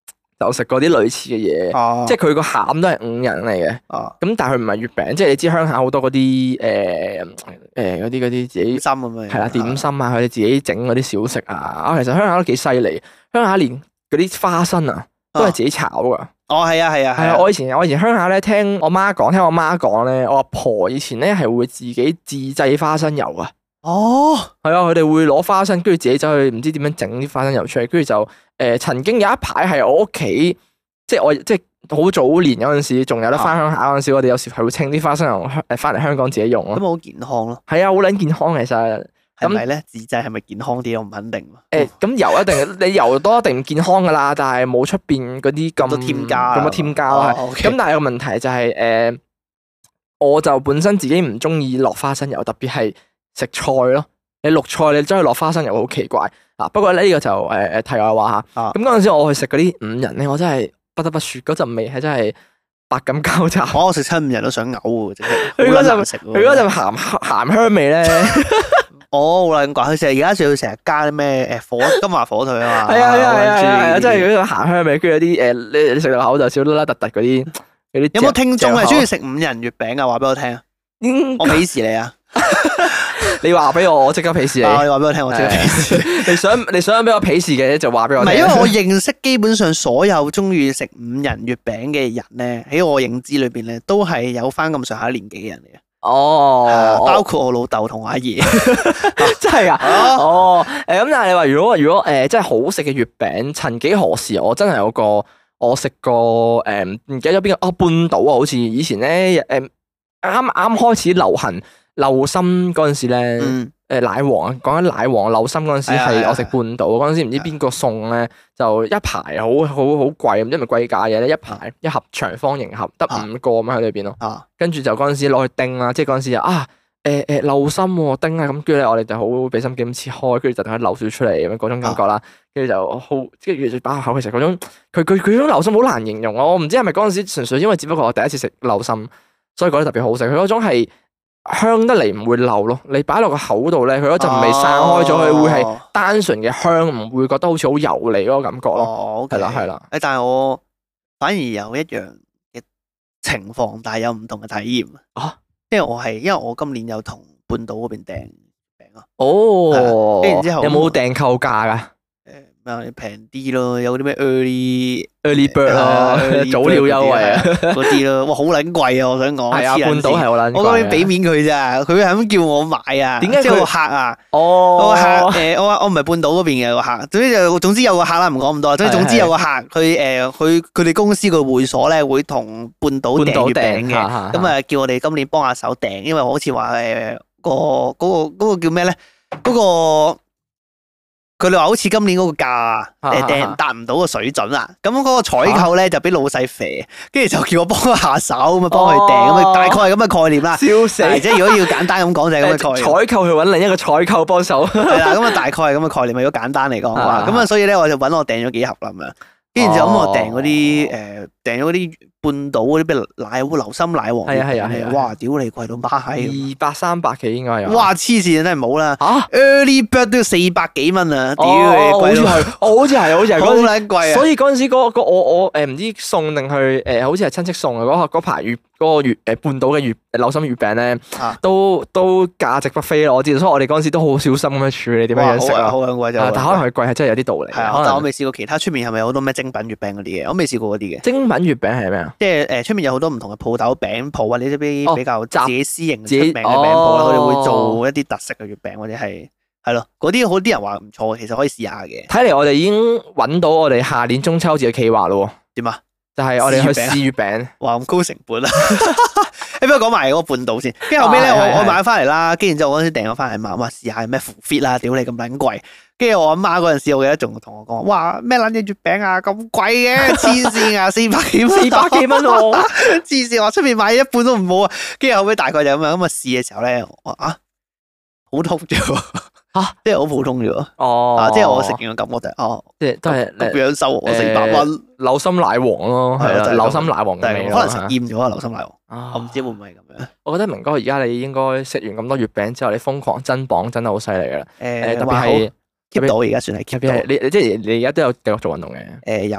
就食過啲類似嘅嘢，即係佢個餡都係5仁嚟嘅。咁但係佢唔係月餅，即係你知鄉下好多嗰啲嗰啲自己點心咁樣。 係啦，點心啊，佢哋自己整嗰啲小食啊，其實鄉下都幾犀利，鄉下連嗰啲花生啊都係自己炒噶。 係啊。 係啊，我以前鄉下咧，聽我媽講咧，我阿婆以前咧係會自己自製花生油啊。係啊，佢哋會攞花生，跟住自己走去唔知點樣整啲花生油出嚟，跟住就曾經有一排係我屋企，即係好早年嗰陣時，仲有得翻鄉下嗰陣時，我哋有時係會清啲花生油翻嚟香港自己用咯。 咁好健康咯。係啊，好撚健康其實。 係咪咧？自製係咪健康啲？我唔肯定。 咁油一定，你油多一定唔健康噶啦，但係冇出邊嗰啲咁多添加啦。咁但係個問題就係我就本身自己唔中意落花生油，特別係食菜咯。你綠菜你真係落花生油好奇怪啊！不過呢個就題外話嚇。咁嗰陣時我去食嗰啲5仁咧，我真係不得不説嗰陣味係真係百感交集。 我食親5仁都想嘔喎，真係。 佢嗰陣鹹香味咧。 好難講，佢成日而家仲要成日加啲咩金華火腿啊嘛。係啊，真係嗰種鹹香味，跟住有啲你食落口就少啦突突嗰啲。 有冇聽眾係中意食5仁月餅啊？話俾我聽啊！我鄙視你啊！ 你話俾我即刻鄙視你。 你話俾我聽，我即刻鄙視。 你想俾我鄙視嘅就話俾我聽。 唔係，因為我認識基本上所有中意食5仁月餅嘅人咧，喺我認知裏邊咧，都係有翻咁上下年紀嘅人嚟嘅。包括我老豆同我阿爺。 真係噶。咁但係你話如果真係好食嘅月餅，曾幾何時我真係有個我食過唔記得咗邊個半島啊，好似以前咧啱開始流行流心嗰陣時咧，奶黃啊，講緊奶黃流心嗰陣時係我食半島嗰陣時，唔知邊個送咧，就一排好貴，唔知係咪貴價嘢咧，一排一盒長方形盒得5個咁喺裏邊咯。跟住就嗰陣時攞去叮啦，即係嗰陣時流心喎叮啊，咁跟住咧我哋就好俾心機咁切開，跟住就等佢流少出嚟咁樣嗰種感覺啦。跟住就好，跟住擺入口其實嗰種佢嗰種流心好難形容啊！我唔知係咪嗰陣時純粹因為只不過我第一次食流心，所以覺得特別好食。佢嗰種係香得嚟唔會漏咯，你擺落個口度咧，佢嗰陣味散開咗，佢會係單純嘅香，唔會覺得好似好油膩嗰個感覺咯。係啦。但係我反而有一樣嘅情況，但係有唔同嘅體驗啊。因為我今年有同半島嗰邊訂餅啊。跟住之後有冇訂購價㗎？ 平啲咯，有啲咩 early bird 咯，早鳥優惠啊嗰啲咯，哇好撚貴啊！我想講係啊，半島係好撚貴。 我當然俾面佢咋，佢係咁叫我買啊。 點解即係個客啊？個客我唔係半島嗰邊嘅個客，總之有個客啦，唔講咁多。總之有個客，佢哋公司個會所咧會同半島訂月餅嘅，咁啊叫我哋今年幫下手訂，因為好似話嗰個叫咩咧？嗰個佢哋話好似今年嗰個價訂達唔到個水準啊，咁嗰個採購咧就俾老細肥，跟住就叫我幫佢下手咁啊，幫佢訂咁啊，大概係咁嘅概念啦。 笑死！ 即係如果要簡單咁講就係咁嘅概念。 採購去揾另一個採購幫手。 係啦，咁啊大概係咁嘅概念。如果簡單嚟講嘅話，咁啊所以咧我就揾我訂咗幾盒啦咁樣，跟住就咁我訂咗啲半島嗰啲咩奶烏流心奶黃。 係啊！ 哇！屌你貴到媽 200-300幾應該有。 哇！黐線真係冇啦。Early bird 都要400幾蚊啊！屌你貴到。好似係。好撚貴啊！ 所以嗰陣時我唔知送定去好似係親戚送嘅嗰排嗰個半島嘅流心月餅咧，都價值不菲咯。我知道，所以我哋嗰陣時都好小心咁樣處理點樣食啊。 好撚貴就。 但可能佢貴係真係有啲道理。 係啊，但我未試過其他出面係咪有好多咩精品月餅嗰啲嘅？我未試過嗰啲嘅。 精品月餅係咩啊？ 即係出面有好多唔同嘅鋪頭餅鋪或者啲比較自己私營出名嘅餅鋪啦，佢哋會做一啲特色嘅月餅或者係咯，嗰啲好啲人話唔錯，其實可以試下嘅。 睇嚟我哋已經揾到我哋下年中秋節嘅企劃咯。 點啊？ 就係我哋去試月餅。 哇！咁高成本啊！你不如講埋嗰個半島先，跟住後尾咧，我買翻嚟啦，跟住之後我嗰陣時訂咗翻嚟，話試下咩 fit 啦，屌你咁撚貴！跟住我阿媽嗰陣時，我記得仲同我講，哇咩撚嘢月餅啊咁貴嘅，黐線啊，400幾蚊喎，黐線！我出面買一半都唔好啊！跟住後尾大概就咁啊試嘅時候咧，我普通啫喎，即係好普通啫喎，即係我食完嘅感覺就係即係都係咁樣收我400蚊， 流心奶黃咯，係啦，流心奶黃嘅味， 可能食厭咗啊，流心奶黃，我唔知會唔會係咁樣。 我覺得明哥而家你應該食完咁多月餅之後，你瘋狂增磅真係好犀利噶啦，特別係。 keep 到而家算係 keep 到， 你即係你而家都有繼續做運動嘅。 有，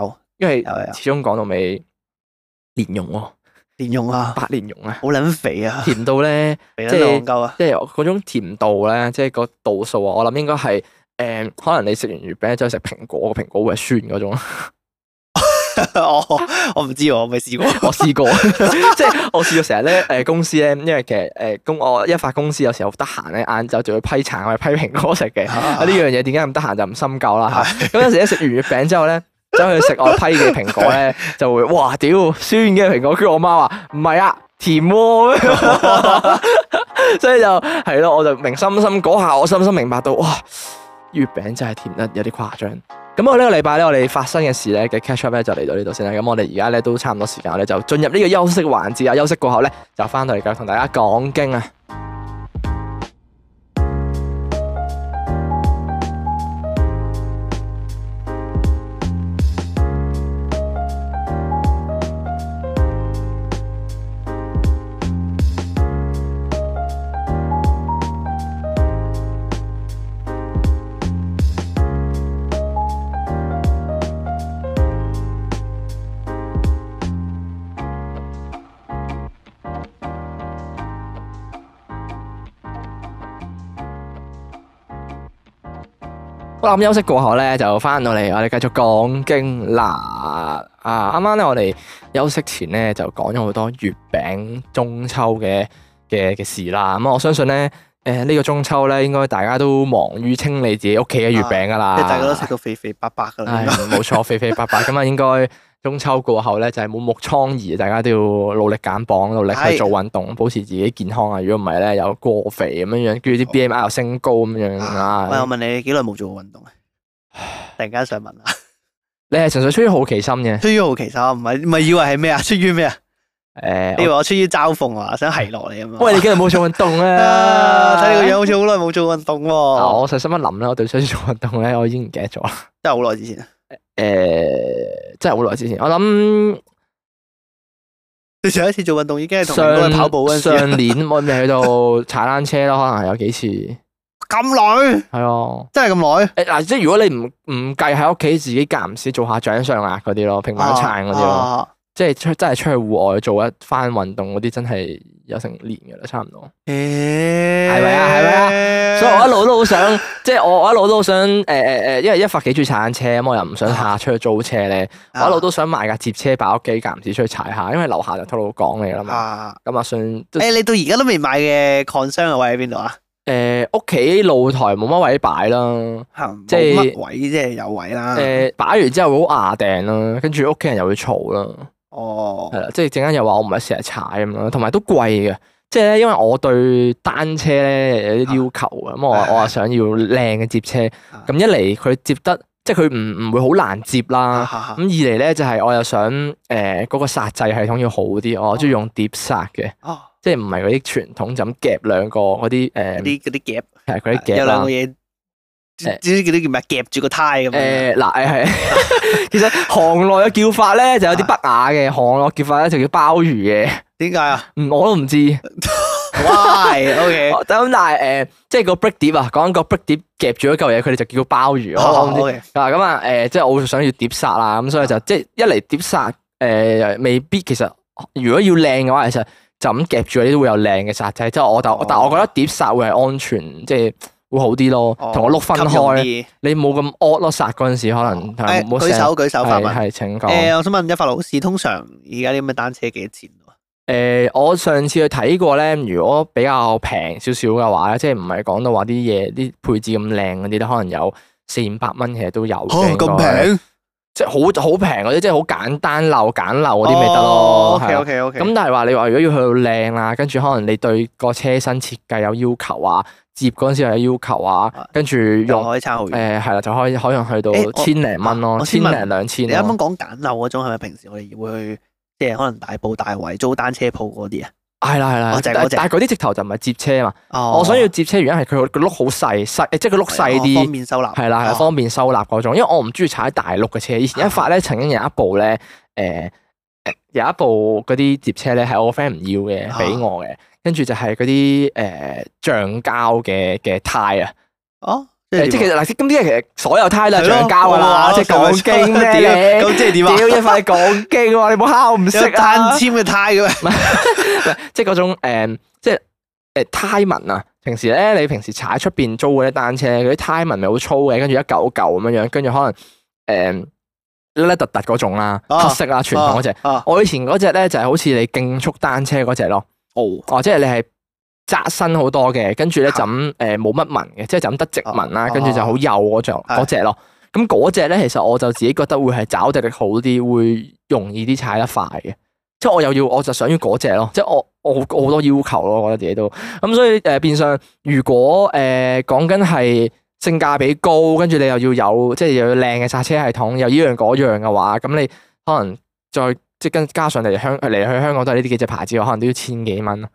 因為始終講到尾蓮蓉喎， 蓮蓉啊， 白蓮蓉啊， 好撚肥啊， 甜到咧， 肥得戇鳩啊， 即係嗰種甜度咧，即係個度數啊，我諗應該係可能你食完月餅之後食蘋果，個蘋果會係酸嗰種。 我唔知喎，我未試過。 我試過，即係我試過成日咧公司咧，因為其實我一發公司有時候得閒咧，晏晝就會批橙或者批蘋果食嘅。呢樣嘢點解咁得閒就唔深究啦嚇。咁有時咧食完月餅之後咧，走去食我批嘅蘋果咧，就會哇屌酸嘅蘋果，跟住我媽話唔係啊，甜喎。所以就係咯，我就深深嗰下，我深深明白到哇，月餅真係甜得有啲誇張。咁我呢個禮拜咧，我哋發生嘅事咧嘅 catch up 咧就嚟到呢度先啦。咁我哋而家咧都差唔多時間，我哋就進入呢個休息環節啊。休息過後咧，就翻到嚟繼續同大家講經啊。好啦，咁休息過後咧，就翻到嚟，我哋繼續講經啦。啱啱咧，我哋休息前咧就講咗好多月餅中秋嘅事啦。咁我相信咧，呢個中秋咧，應該大家都忙於清理自己屋企嘅月餅噶啦。 即係大家都食到肥肥白白噶啦。 冇錯，肥肥白白咁啊，應該中秋過後咧就係滿目瘡痍，大家都要努力減磅，努力去做運動，保持自己健康啊。如果唔係咧，又過肥咁樣樣，跟住啲 BMI 又升高咁樣啊。 喂，我問你幾耐冇做過運動啊？突然間想問下， 你係純粹出於好奇心嘅？ 出於好奇心，唔係以為係咩啊？出於咩啊？你以為我出於嘲諷啊？想係落嚟啊嘛？ 喂，你幾日冇做運動啊？ 睇你個樣好似好耐冇做運動喎。 我細心一諗咧，我對上次做運動咧，我已經唔記得咗啦。 真係好耐之前。 真係好耐之前。我諗你上一次做運動已經係同人去跑步嗰陣時。 上年我咪去到踩單車咯，可能係有幾次。 咁耐？ 係啊， 真係咁耐？ 嗱，即係如果你唔計喺屋企自己間唔時做下掌上壓嗰啲咯，平板撐嗰啲咯，即係真係出去戶外做一番運動嗰啲，真係有成年噶啦，差唔多。係咪啊？係咪啊？所以我一路都好想，即係我一路都好想，因為一發幾中意踩單車，咁我又唔想下出去租車咧，我一路都想買架接車擺屋企，間唔時出去踩下，因為樓下就吐露港嚟啦嘛。咁啊，算。 你到而家都未買嘅 concern 嘅位喺邊度啊？ 屋企露台冇乜位擺啦， 即係乜位即係有位啦。 擺完之後好牙定啦，跟住屋企人又會嘈啦。 哦，係啦，即係陣間又話我唔係成日踩咁樣，同埋都貴嘅。即係咧，因為我對單車咧有啲要求啊，咁我話想要靚嘅接車。咁一嚟佢接得，即係佢唔會好難接啦。咁二嚟咧就係我又想嗰個剎掣系統要好啲，我中意用碟剎嘅。即係唔係嗰啲傳統就咁夾兩個嗰啲啲夾， 係嗰啲夾有兩個嘢，知唔知嗰啲叫咩？夾住個胎咁樣。 嗱係，其實行內嘅叫法咧就有啲不雅嘅，行內叫法咧就叫鮑魚嘅。點解啊？我都唔知。Why？OK。咁但係即係個 break 碟啊，講緊個 break 碟夾住嗰嚿嘢，佢哋就叫鮑魚。我唔知。咁啊即係我想要碟剎啦，咁所以就即係一嚟碟剎未必其實如果要靚嘅話，其實就咁夾住嗰啲都會有靚嘅剎掣。即係但係我覺得碟剎會係安全，即係會好啲咯。同我碌分開，你冇咁惡咯，剎嗰陣時可能舉手發問。係請講。 我想問一發老師，通常而家啲咁嘅單車幾多錢？ 我上次去睇過咧，如果比較平少少嘅話咧，即係唔係講到話啲嘢啲配置咁靚嗰啲咧，可能有400-500蚊，其實都有嘅。咁平？即係好平嗰啲，即係好簡單簡陋嗰啲咪得咯。 OK。 咁但係話你話如果要去到靚啦，跟住可能你對個車身設計有要求啊，接嗰陣時有要求啊，跟住用可以差好遠。 係啦，就可以去到千零蚊咯，1000-2000。 你啱啱講簡陋嗰種係咪平時我哋會去即係可能大埔大圍租單車鋪嗰啲啊？係啦，但係嗰啲直頭就唔係接車嘛。我想要接車原因係佢個轆好細，即係個轆細啲，方便收納。係啦，方便收納嗰種。因為我唔中意踩大轆嘅車。以前一發咧，曾經有一部咧，有一部嗰啲接車咧，係我個 friend 唔要嘅，俾我嘅。跟住就係嗰啲橡膠嘅胎啊。 即係其實嗱，咁啲其實所有胎都係橡膠噶啦，即係講經咩？ 咁即係點啊？ 屌一塊講經喎，你冇敲唔識啊？ 單簽嘅胎嘅咩？ 即係嗰種即係胎紋啊！平時咧，你平時踩出邊租嗰啲單車，嗰啲胎紋咪好粗嘅，跟住一嚿嚿咁樣樣，跟住可能甩甩突突嗰種啦，黑色啦，傳統嗰隻。我以前嗰隻咧就係好似你競速單車嗰隻咯。哦，即係你係窄身好多嘅，跟住咧就咁冇乜紋嘅，即係就咁得直紋啦，跟住就好幼嗰隻咯。咁嗰隻咧，其實我就自己覺得會係抓地力好啲，會容易啲踩得快嘅。即係我就想要嗰隻咯，即係我好多要求咯，我覺得自己都咁，所以變相如果講緊係性價比高，跟住你又要有即係又要靚嘅剎車系統，又依樣嗰樣嘅話，咁你可能再即係跟加上嚟去香港都係呢啲幾隻牌子，可能都要千幾蚊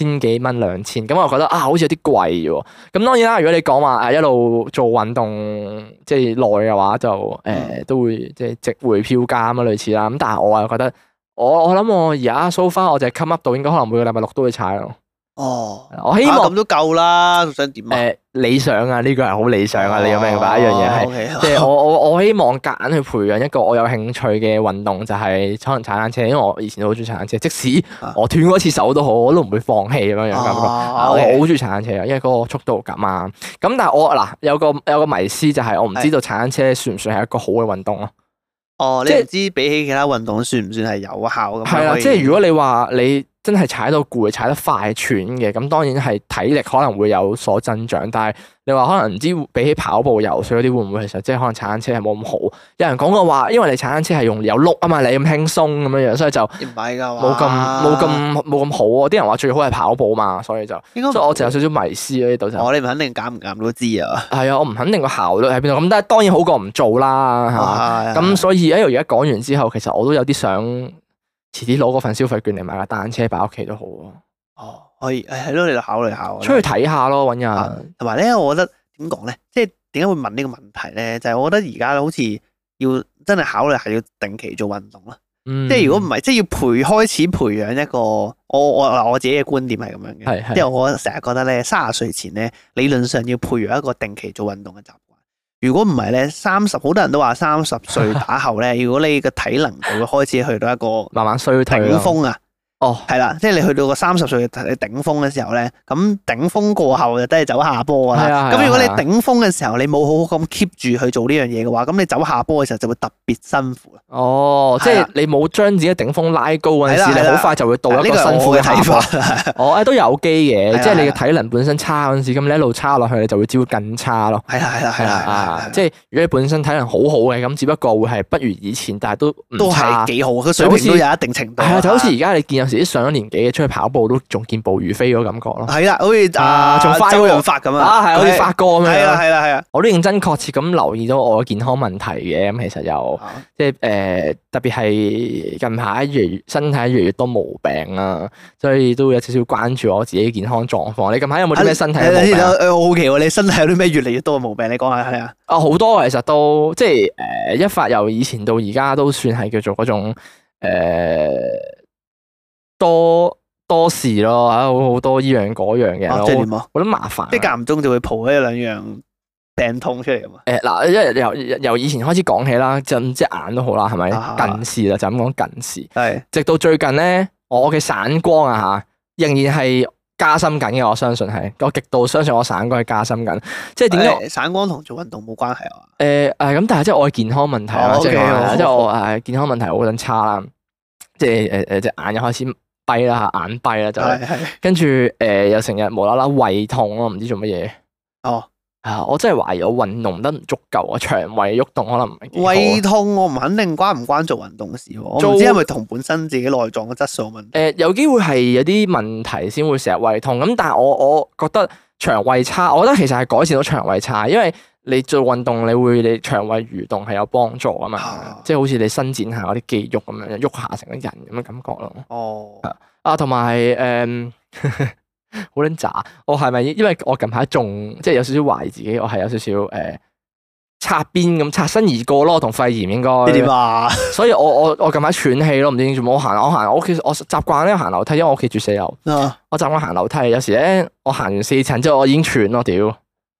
2000，咁我覺得好似有啲貴喎。咁當然啦，如果你講話一路做運動即係耐嘅話，就都會即係值回票價咁類似啦。咁但係我又覺得我諗我而家 so far 我就係 come up 到應該可能每個禮拜6都會踩咯。哦，我希望咁都夠啦，仲想點啊？ 理想啊，呢個係好理想啊！你有明白一樣嘢係，即係我希望夾硬去培養一個我有興趣嘅運動，就係可能踩單車，因為我以前都好中意踩單車，即使我斷過一次手都好，我都唔會放棄咁樣樣感覺。我好中意踩單車啊，因為嗰個速度感啊。咁但係我嗱有個迷思就係我唔知道踩單車算唔算係一個好嘅運動咯。 哦，你唔知比起其他運動算唔算係有效咁？ 係啦，即係如果你話你真係踩到攰、踩得快、喘嘅，咁當然係體力可能會有所增長。但係你話可能唔知比起跑步、游水嗰啲會唔會其實即係可能踩單車係冇咁好？有人講過話，因為你踩單車係用有碌啊嘛，你咁輕鬆咁樣樣，所以就唔係㗎， 冇咁好啊！啲人話最好係跑步嘛，所以所以我就有少少迷思喺呢度就。 你唔肯定減唔減都知啊。 係啊，我唔肯定個效率喺邊度。咁但係當然好過唔做啦，係嘛？咁所以而家講完之後，其實我都有啲想遲啲攞嗰份消費券嚟買架單車擺屋企都好啊。 哦，可以，係咯，你就考慮下。 出去睇下咯，搵人。 同埋咧，我覺得點講咧，即係點解會問呢個問題咧？就係我覺得而家好似要真係考慮係要定期做運動啦。即係如果唔係，即係要開始培養一個我自己嘅觀點係咁樣嘅。即係我成日覺得咧，30歲前咧，理論上要培養一個定期做運動嘅習慣。如果唔係咧，30好多人都話30歲打後咧，如果你個體能就會開始去到一個慢慢衰退頂峰啊。 哦， 係啦，即係你去到個30歲嘅頂峰嘅時候咧，咁頂峰過後就都係走下坡噶啦。咁如果你頂峰嘅時候你冇好好咁 keep 住去做呢樣嘢嘅話，咁你走下坡嘅時候就會特別辛苦啦。哦， 即係你冇將自己頂峰拉高嗰陣時，你好快就會到一個辛苦嘅睇法。都有機嘅，即係你嘅體能本身差嗰陣時，咁你一路差落去，你就會只會更差咯。係啦，即係如果你本身體能好好嘅，咁只不過會係不如以前，但係都係幾好，個水平都有一定程度。 係啊，就好似而家你見有時啲上咗年紀嘅出去跑步都仲健步如飛嗰個感覺咯。 係啦，好似仲快周潤發咁啊， 係好似發哥咁樣。 係啦， 我都認真確切咁留意到我嘅健康問題嘅。咁其實又即係特別係近排身體越嚟越多毛病啦，所以都有少少關注我自己健康狀況。你近排有冇啲咩身體毛病？ 我好奇喎，你身體有啲咩越嚟越多嘅毛病？你講下係啊。 好多其實都即係一發由以前到而家都算係叫做嗰種多事咯，好多依樣嗰樣嘅。 即係點啊？ 覺得麻煩。 即係間唔中就會抱一兩樣病痛出嚟啊嘛。 嗱，由以前開始講起啦，即係眼都好啦，係咪？近視啦，就咁講近視。係。直到最近咧，我嘅散光啊嚇，仍然係加深緊嘅。我相信係，我極度相信我散光係加深緊。即係點解？散光同做運動冇關係啊？ 咁但係即係我嘅健康問題啦，即係我健康問題好撚差啦。即係隻眼又開始閉啦，眼閉啦就係，跟住又成日無啦啦胃痛咯，唔知做乜嘢。哦，我真係懷疑我運動得唔足夠啊，腸胃喐動可能唔係幾好。胃痛我唔肯定關唔關做運動事，我唔知係咪同本身自己內臟嘅質素問題。有機會係有啲問題先會成日胃痛，咁但係我覺得腸胃差，我覺得其實係改善到腸胃差，因為你做運動你腸胃蠕動係有幫助啊嘛，即係好似你伸展下嗰啲肌肉咁樣，喐下成個人咁嘅感覺咯。哦，同埋好撚渣，我係咪因為我近排仲即係有少少懷疑自己，我係有少少擦邊咁擦身而過咯，同肺炎應該。 你點啊？ 所以我近排喘氣咯，唔知點做。我屋企我習慣咧行樓梯，因為我屋企住4樓。我習慣行樓梯，有時咧我行完4層之後，我已經喘咯，屌！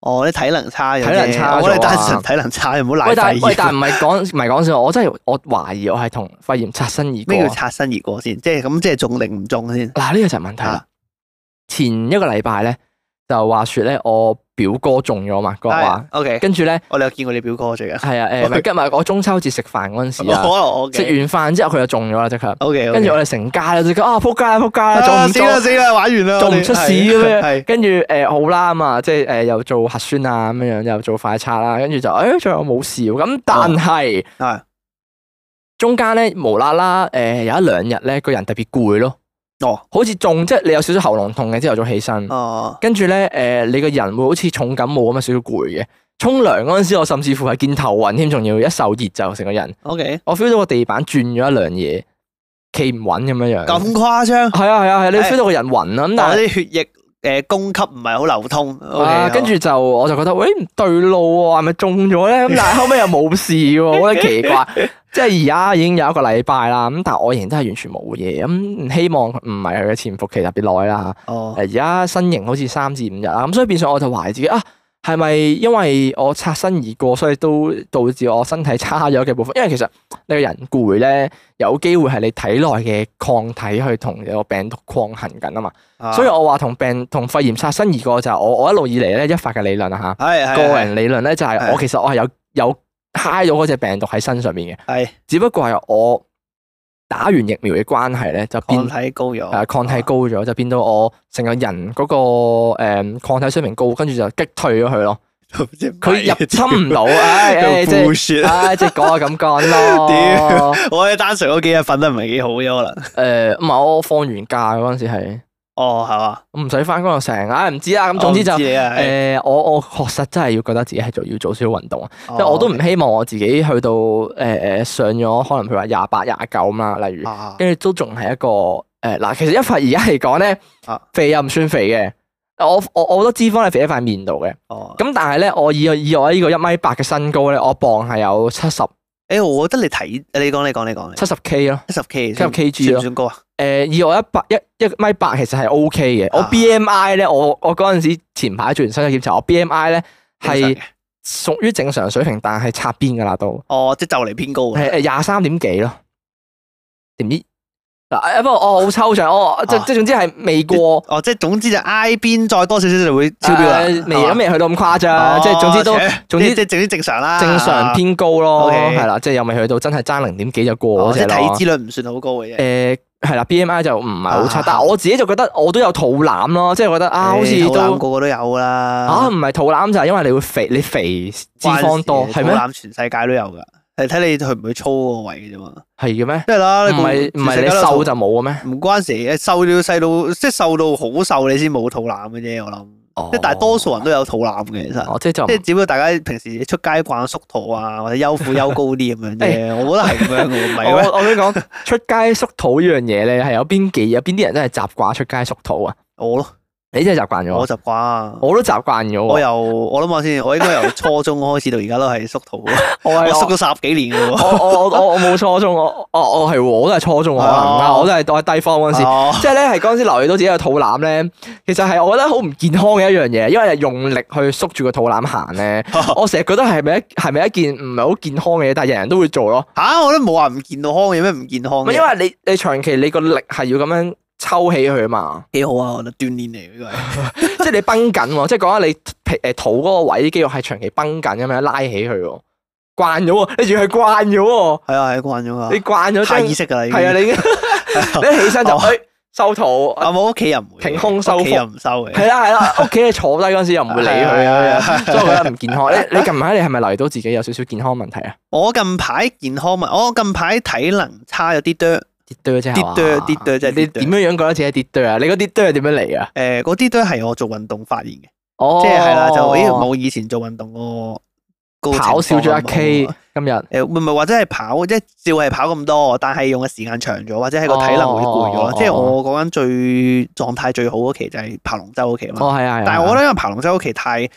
哦，你體能差咗啫， 體能差咗我哋單純體能差，唔好賴肺炎。 但唔係講笑，我真係我懷疑我係同肺炎擦身而過。 咩叫擦身而過先？即係咁，即係中定唔中先？ 嗱，呢個就係問題啦。前一個禮拜咧，就話説咧，我表哥中咗嘛，嗰話。 OK。跟住咧，我哋有見過你表哥最近。 係啊，今日我中秋節食飯嗰陣時啊，食完飯之後佢就中咗啦，即刻。 OK。 跟住我哋成家咧，即刻仆街啦，中唔中？ 死啦，玩完啦， 做唔出事咁樣。跟住好啦咁啊，即係又做核酸啊咁樣，又做快測啦，跟住就最後冇事咁，但係中間咧無啦啦有一兩日咧個人特別攰咯。好似中即係你有少少喉嚨痛嘅，朝頭早起身，跟住咧你個人會好似重感冒咁啊，少少攰嘅。沖涼嗰陣時，我甚至乎係見頭暈添，仲要一受熱就成個人。 OK， 我 feel 到個地板轉咗一兩嘢，企唔穩咁樣樣。 咁誇張？係啊，你 feel 到個人暈啦。咁但係啲血液供給唔係好流通。 跟住我就覺得喂唔對路喎，係咪中咗咧？咁但係後尾又冇事喎，我覺得奇怪。即係而家已經有一個禮拜啦，咁但係我仍然都係完全冇嘢，咁希望唔係佢嘅潛伏期特別耐啦嚇。而家新型好似3至5日啦，咁所以變相我就懷疑自己係咪因為我擦身而過，所以都導致我身體差咗嘅部分？因為其實你個人攰咧，有機會係你體內嘅抗體去同個病毒抗衡緊啊嘛。所以我話同肺炎擦身而過就係我一路以嚟咧一發嘅理論啊嚇。個人理論咧就係其實我係有揩咗嗰隻病毒喺身上面嘅，只不過係我打完疫苗嘅關係咧，就變抗體高咗， 抗體高咗，就變到我成個人嗰個抗體水平高，跟住就擊退咗佢咯。佢入侵唔到，即係講下咁講咯。 我哋單純嗰幾日瞓得唔係幾好啫，可能。 唔係我放完假嗰陣時係。 係嘛？ 我唔使翻工就成，唔知啦。咁總之就我確實真係要覺得自己係要做少少運動啊。即係我都唔希望我自己去到上咗可能譬如話28、29咁啦，例如，跟住都仲係一個嗱。其實一發而家嚟講咧，肥又唔算肥嘅。我覺得脂肪係肥喺塊面度嘅。咁但係咧，我以我呢個1.8米嘅身高咧，我磅係有70。 我覺得你講 70K 咯 ，70kg 算唔算高啊？ 以我1.8米其實係 OK 嘅。我 BMI 咧，我嗰陣時前排做完身體檢查，我 BMI 咧係屬於正常水平，但係擦邊噶啦都。 即係就嚟偏高。 23點幾咯，點知嗱？不過我好抽象，即係總之係未過。 即係總之就挨邊再多少少就會超標啦。 未去到咁誇張，即係總之正常啦。 正常偏高咯，係啦，即係又未去到真係爭0點幾就過嗰隻咯。 即係體脂率唔算好高嘅啫。 係啦 ，BMI 就唔係好差，但係我自己就覺得我都有肚腩咯，即係覺得好似肚腩個個都有啦。 唔係肚腩就係因為你會肥，你肥脂肪多，係咩？ 肚腩全世界都有噶，係睇你去唔去操嗰個位嘅啫嘛。 係嘅咩？ 即係啦， 唔係你瘦就冇嘅咩？ 唔關事嘅，瘦到細到即係瘦到好瘦，你先冇肚腩嘅啫，我諗。即係大多數人都有肚腩嘅，其實。即係只不過大家平時出街慣縮肚啊，或者休褲休高啲咁樣啫。我覺得係咁樣嘅，唔係咩？ 我想講出街縮肚呢樣嘢咧，係有邊啲人真係習慣出街縮肚啊？ 我咯。 你真係習慣咗？ 我習慣， 我都習慣咗。 我諗下先，我應該由初中開始到而家都係縮肚。我縮咗10幾年嘅喎。 我冇初中，我都係初中可能，我都係低方嗰陣時，即係咧係嗰陣時留意到自己個肚腩咧，其實係我覺得好唔健康嘅一樣嘢，因為係用力去縮住個肚腩行咧，我成日覺得係咪一件唔係好健康嘅嘢，但係人人都會做咯。 我都冇話唔健康嘅，有咩唔健康嘅？ 因為你長期你個力係要咁樣抽起佢啊嘛， 幾好啊！我覺得鍛煉嚟呢個係， 即係你繃緊喎，即係講緊你肚嗰個位啲肌肉係長期繃緊咁樣拉起佢喎，慣咗喎，你仲係慣咗喎， 係慣咗啊， 你慣咗， 下意識㗎啦， 係啊，你一起身就收肚， 我屋企又唔會， 挺胸收腹又唔收嘅， 係啦，屋企你坐低嗰陣時又唔會理佢啊，所以我覺得唔健康。你近排你係咪留意到自己有少少健康問題啊？ 我近排健康我近排體能差咗啲多。啲即係你點樣覺得自己啲啊？你嗰啲係點樣嚟啊？ 嗰啲係我做運動發現嘅，即係啦，就冇以前做運動個跑少咗1K 今日。 唔係或者係跑，即係照係跑咁多，但係用嘅時間長咗，或者係個體能會攰咗。即係我講緊最狀態最好嗰期就係爬龍舟嗰期嘛。 係啊。 但係我覺得因為爬龍舟嗰期太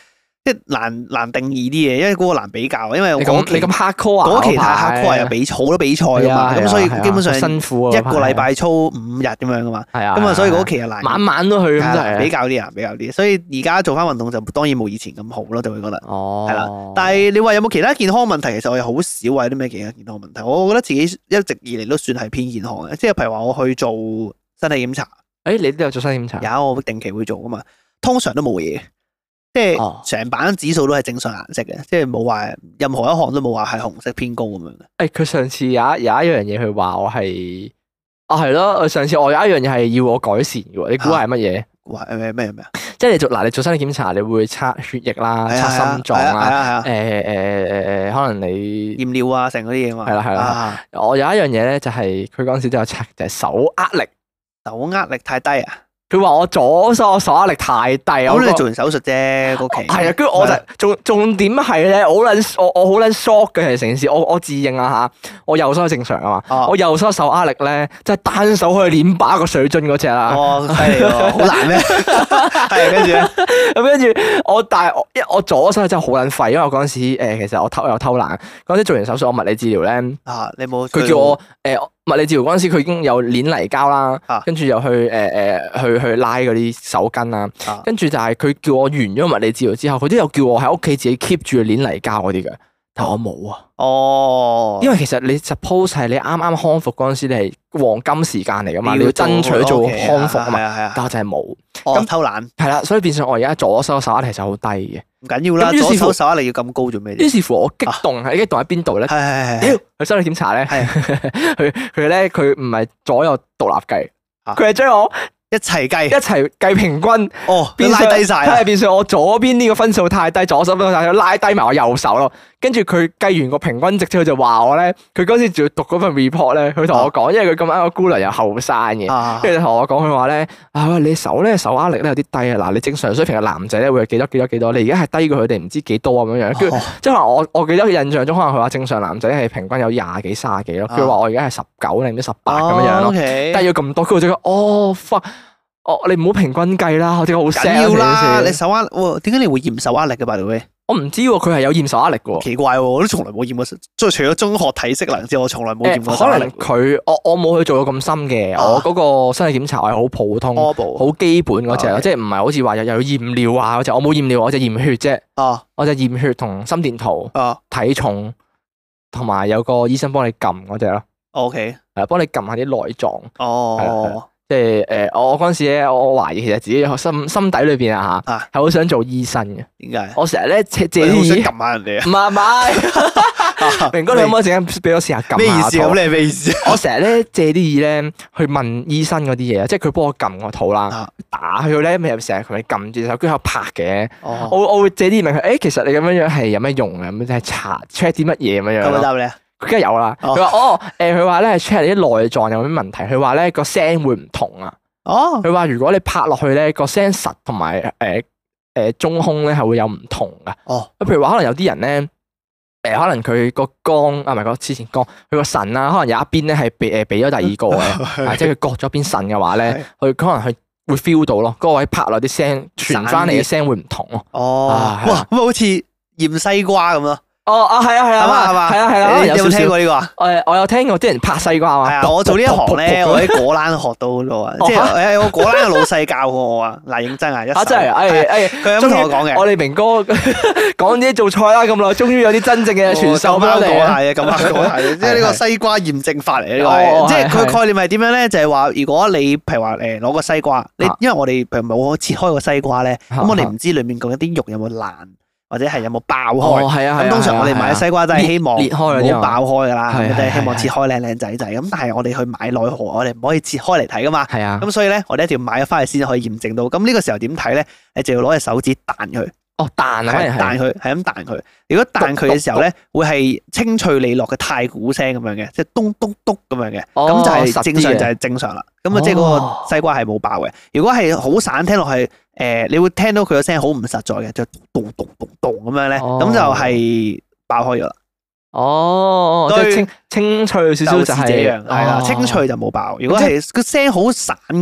即係難定義啲嘢，因為嗰個難比較，因為你咁 hardcore 啊， 嗰期太 hardcore 有好多比賽噶嘛，咁所以基本上辛苦一個禮拜操5日咁樣噶嘛， 係啊， 咁啊所以嗰期又難， 晚晚都去咁就係比較啲，所以而家做翻運動就當然冇以前咁好咯，就會覺得係啦。但係你話有冇其他健康問題？其實我又好少話啲咩其他健康問題，我覺得自己一直以嚟都算係偏健康嘅，即係譬如話我去做身體檢查， 你都有做身體檢查？ 有，我定期會做噶嘛，通常都冇嘢。即係成版指數都係正常顏色嘅，即係冇話任何一項都冇話係紅色偏高咁樣嘅。 佢上次有一樣嘢，佢話我係係咯，上次我有一樣嘢係要我改善嘅喎，你估係乜嘢？ 話咩？ 即係你做身體檢查，你會測血液啦，測心臟啦，可能你驗尿啊，成嗰啲嘢嘛。 係啦。我有一樣嘢咧，就係佢嗰陣時都有測，就係手握力。 手握力太低啊！ 佢話我左手手握力太低， 咁你做完手術啫，嗰期係啊，跟住我就重點係咧，我好撚 shock 嘅係成件事，我自認啊嚇，我右手正常啊嘛，我右手手握力咧，即係單手可以捏把個水樽嗰隻啦。 犀利喎，好難咩？係跟住我左手真係好撚廢，因為我嗰陣時其實我偷懶，嗰陣時做完手術我物理治療咧， 你冇佢叫我物理治療嗰陣時，佢已經有捏泥膠啦，跟住又去拉嗰啲手巾啦，跟住就係佢叫我完咗物理治療之後，佢都有叫我喺屋企自己 keep 住捏泥膠嗰啲嘅，但我冇啊。因為其實你 suppose 係你啱啱康復嗰陣時，你係黃金時間嚟噶嘛，你要爭取做康復啊嘛，但我就係冇。 咁偷懶係啦，所以變相我而家左手手握力其實好低嘅。 唔緊要啦，左手手握力要咁高做咩？ 於是乎我激動喺邊度咧？屌，去身體檢查咧，佢唔係左右獨立計，佢係將我一齊計平均， 變拉低晒， 係變相我左邊呢個分數太低，左手分數太低，拉低埋我右手咯。跟住佢計完個平均值之後就話我咧，佢嗰時仲要讀嗰份 report 咧，佢同我講，因為佢咁啱個姑娘又後生嘅，跟住同我講佢話咧，你手握力咧有啲低啊，嗱你正常水平嘅男仔咧會係幾多，你而家係低過佢哋唔知幾多咁樣樣，跟住即係可能我記得印象中可能佢話正常男仔係平均有20幾30幾咯，佢話我而家係19定唔知18咁樣樣咯，但係要咁多，佢就講fuck。你唔好平均計啦，我真係好 sad 要啦，你手握，點解你會驗手握力嘅？by the way， 我唔知喎，佢係有驗手握力嘅喎。 奇怪喎，我都從來冇驗過，即係除咗中學體適能之外，我從來冇驗過手握力。 可能佢我冇去做到咁深嘅，我嗰個身體檢查係好普通、好基本嗰隻，即係唔係好似話又要驗尿啊嗰隻，我冇驗尿，我就驗血啫。我就驗血同心電圖、體重，同埋有個醫生幫你撳嗰隻咯。 OK， 係幫你撳下啲內臟。即係我嗰陣時咧，我懷疑其實自己心底裏邊啊嚇，係好想做醫生嘅。點解？我成日咧借啲嘢撳下人哋啊！ 唔係，明哥你可唔可以陣間俾我試下撳下？ 咩意思？咁你係咩意思？ 我成日咧借啲嘢咧去問醫生嗰啲嘢，即係佢幫我撳個肚啦，打佢咧，咪成日佢撳住手，跟住拍嘅。我會借啲嘢問佢，其實你咁樣樣係有咩用啊？咁就係查 check 啲乜嘢咁樣樣。 咁答你啊？ 佢梗係有啦。佢話佢話咧 check 你啲內臟有咩問題。佢話咧個聲會唔同啊。佢話如果你拍落去咧個聲實同埋中空咧係會有唔同噶。譬如話可能有啲人咧可能佢個肝唔係個之前肝，佢個腎啊，可能有一邊咧係俾咗第二個嘅，即係佢割咗邊腎嘅話咧，佢可能佢會 feel 到咯。嗰個位拍落啲聲傳翻嚟嘅聲會唔同咯。哇， 咁好似驗西瓜咁咯。 係啊， 你有冇聽過呢個啊？ 我有聽過啲人拍西瓜啊。 係啊，我做呢一行咧，我喺果欄學到好多啊。即係我果欄嘅老細教過我啊。嗱，認真啊， 真係， 佢咁同我講嘅。 我哋明哥講啲做菜啦咁耐，終於有啲真正嘅傳授翻嚟。 講下即係呢個西瓜驗證法嚟嘅呢個，即係佢概念係點樣咧？就係話，如果你譬如話攞個西瓜，因為我哋譬如冇切開個西瓜咧，咁我哋唔知裏面究竟啲肉有冇爛。或者係有冇爆開？咁通常我哋買西瓜都係希望唔好爆開噶啦，都係希望切開靚靚仔仔。咁但係我哋去買奈何，我哋唔可以切開嚟睇噶嘛。咁所以咧，我哋一定要買咗翻去先可以驗證到。咁呢個時候點睇咧？你就要攞隻手指彈佢。彈佢，係咁彈佢。如果彈佢嘅時候咧，會係清脆利落嘅太鼓聲咁樣嘅，即係咚咚咚咁樣嘅。咁就係正常，就係正常啦。咁啊，即係嗰個西瓜係冇爆嘅。如果係好散，聽落去。你會聽到佢個聲好唔實在嘅，就咚咚咚咚咁樣咧，咁就係爆開咗啦。 即係清脆少少就係， 係啦，清脆就冇爆。如果係個聲好散嘅，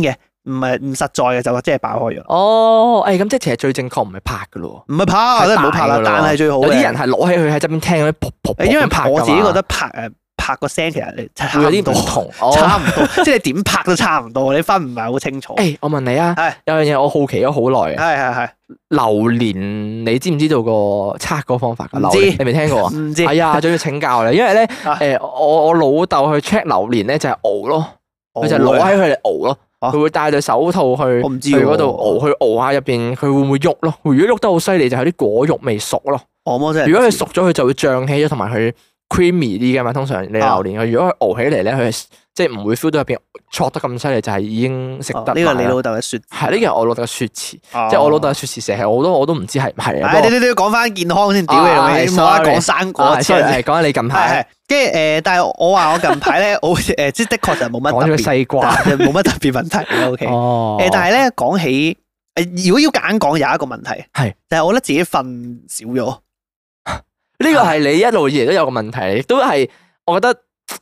唔實在嘅就即係爆開咗。 哦，咁即係其實最正確唔係拍噶咯， 唔係拍，真係唔好拍啦。但係最好有啲人係攞起佢喺側邊聽嗰啲噗噗噗， 因為拍我自己覺得拍個聲其實你差有啲唔同， 差唔多，即係你點拍都差唔多，你分唔係好清楚。 我問你啊，有樣嘢我好奇咗好耐嘅，係榴蓮，你知唔知道個測嗰個方法？ 唔知， 你未聽過啊？ 唔知。 係啊，仲要請教你，因為咧我老豆去 check 榴蓮咧就係熬咯，佢就攞喺佢嚟熬咯。佢會戴對手套去嗰度熬，去熬下入邊，佢會唔會喐咯？如果喐得好犀利，就係啲果肉未熟咯。如果佢熟咗，佢就會脹起咗，同埋佢 creamy 啲嘅嘛。通常你榴蓮，佢如果佢熬起嚟咧，佢即係唔會 feel 到入邊挫得咁犀利，就係已經食得。呢個你老豆嘅説係呢個係我老豆嘅説詞，即係我老豆嘅説詞成日我都唔知係唔係啊。你講翻健康先，屌你老味，冇得講生果。講下你近排。 跟住但係我話我近排咧，我即係的確就冇乜特別。 講咗西瓜， 冇乜特別問題。OK。但係咧講起如果要揀講有一個問題係，就係我覺得自己瞓少咗。 呢個係你一路以嚟都有個問題，亦都係我覺得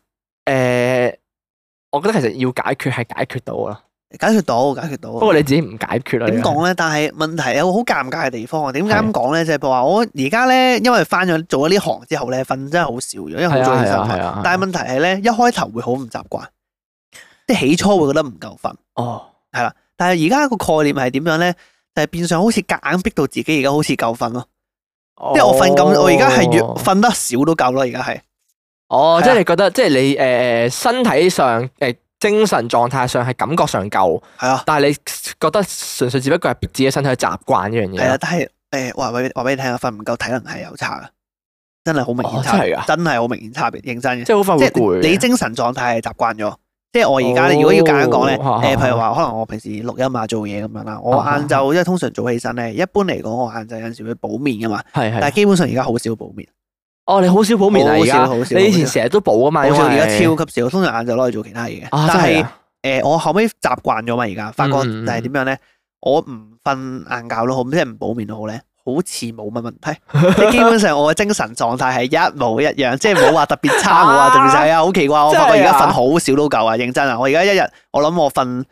我覺得其實要解決係解決到啦，解決到。不過你自己唔解決啦。 點講咧？但係問題有個好尷尬嘅地方啊！點解咁講咧？就係話我而家咧，因為翻咗做咗呢行之後咧，瞓真係好少咗，因為好早起身。但係問題係咧，一開頭會好唔習慣，即係起初會覺得唔夠瞓。係啦。但係而家個概念係點樣咧？就係變相好似夾硬逼到自己而家好似夠瞓咯。即係我瞓咁，我而家係越瞓得少都夠咯。而家係。 即係你覺得，即係你身體上精神狀態上係感覺上夠，係啊，但係你覺得純粹只不過係逼自己身體去習慣呢樣嘢。係啊，但係話俾你聽啊，瞓唔夠體能係有差噶，真係好明顯差別，真係好明顯差別，認真嘅。即係好快會攰。你精神狀態係習慣咗，即係我而家如果要簡單講咧，譬如話可能我平時錄音啊做嘢咁樣啦，我晏晝因為通常早起身咧，一般嚟講我晏晝有陣時會補眠噶嘛，但係基本上而家好少補眠。你好少補眠啊？而家你以前成日都補啊嘛，而家超級少，通常晏晝攞嚟做其他嘢嘅。但係我後尾習慣咗嘛，而家發覺就係點樣咧？我唔瞓晏覺都好，即係唔補眠都好咧，好似冇乜問題。即係基本上我嘅精神狀態係一模一樣，即係冇話特別差，冇話特別細啊！好奇怪，我發覺而家瞓好少都夠啊！認真啊！我而家一日我諗我瞓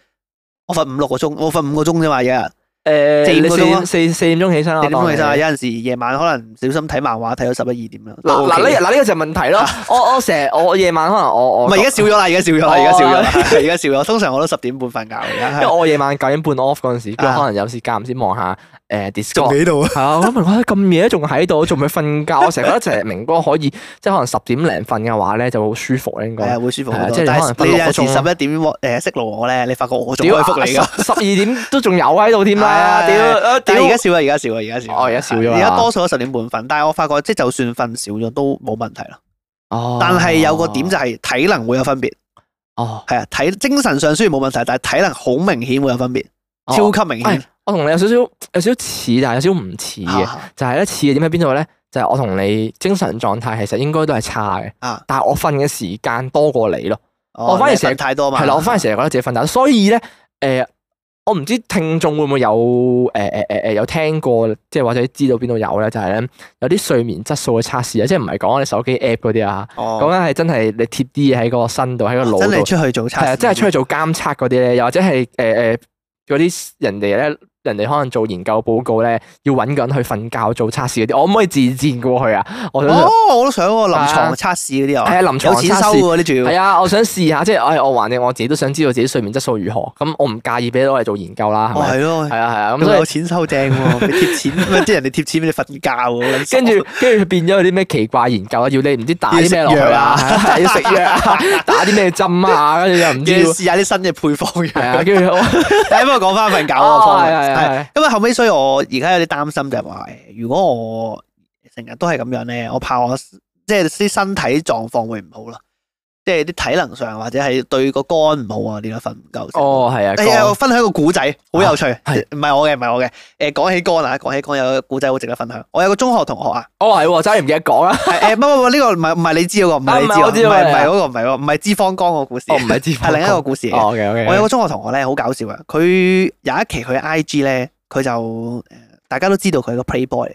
5-6個鐘，我瞓5個鐘啫嘛，一日。4點鐘起身啦，有陣時夜晚可能唔小心睇漫畫睇到11、12點啦。嗱呢個就係問題咯。我夜晚可能我唔係而家少咗啦，而家少咗。通常我都10點半瞓覺而家。因為我夜晚9點半 off 嗰陣時，可能有時間唔知望下Discord 仲喺度啊。係啊，我問我咁夜仲喺度，仲未瞓覺。我成日覺得就係明哥可以即係可能10點零瞓嘅話咧，就好舒服應該。係啊，會舒服好多。即係可能你有時11點識路我咧，你發覺我仲可以覆你㗎。12點都仲有喺度添啦。但係而家少啦，而家少咗。而家多數都10點半瞓，但係我發覺即係就算瞓少咗都冇問題啦。但係有個點就係體能會有分別。係啊，精神上雖然冇問題，但係體能好明顯會有分別，超級明顯。我同你有少少似，但係有少少唔似嘅，就係咧似嘅點喺邊度咧？就係我同你精神狀態其實應該都係差嘅，但係我瞓嘅時間多過你咯。我反而成日太多嘛。係啦，我反而成日覺得自己瞓得，所以咧我唔知聽眾會唔會有聽過，即係或者知道邊度有咧，就係咧有啲睡眠質素嘅測試啊，即係唔係講你手機 app 嗰啲啊，講緊係真係你貼啲嘢喺個身度，喺個腦度，真係出去做測試，真係出去做監測嗰啲咧，又或者係嗰啲人哋可能做研究報告咧，要揾個人去瞓覺做測試嗰啲，我可唔可以自薦過去啊？我都想喎，臨床測試嗰啲啊，係啊，臨床有錢收喎啲仲要。係啊，我想試下，即係我橫掂我自己都想知道自己睡眠質素如何，咁我唔介意俾攞嚟做研究啦，係咪？係咯，係啊，咁有錢收正喎，俾貼錢，即係人哋貼錢俾你瞓覺喎。跟住變咗有啲咩奇怪研究啊？要你唔知打啲咩落去啊？要食藥啊？打啲咩針啊？跟住又唔知試下啲新嘅配方藥。跟住不過講翻瞓覺嗰個方面。係，咁啊後尾，所以我而家有啲擔心就係話，如果我成日都係咁樣咧，我怕我即係啲身體狀況會唔好啦，即係啲體能上或者係對個肝唔好啊，點解瞓唔夠？係啊，我分享一個古仔，好有趣，唔係我嘅。講起肝有個古仔好值得分享。我有個中學同學啊，係真係唔記得講啦。唔呢個唔係你知嗰個，唔係唔係脂肪肝個故事，唔係脂肪，係另一個故事。我有個中學同學咧，好搞笑啊！佢有一期佢 IG 咧，佢就大家都知道佢係個 playboy 嚟嘅。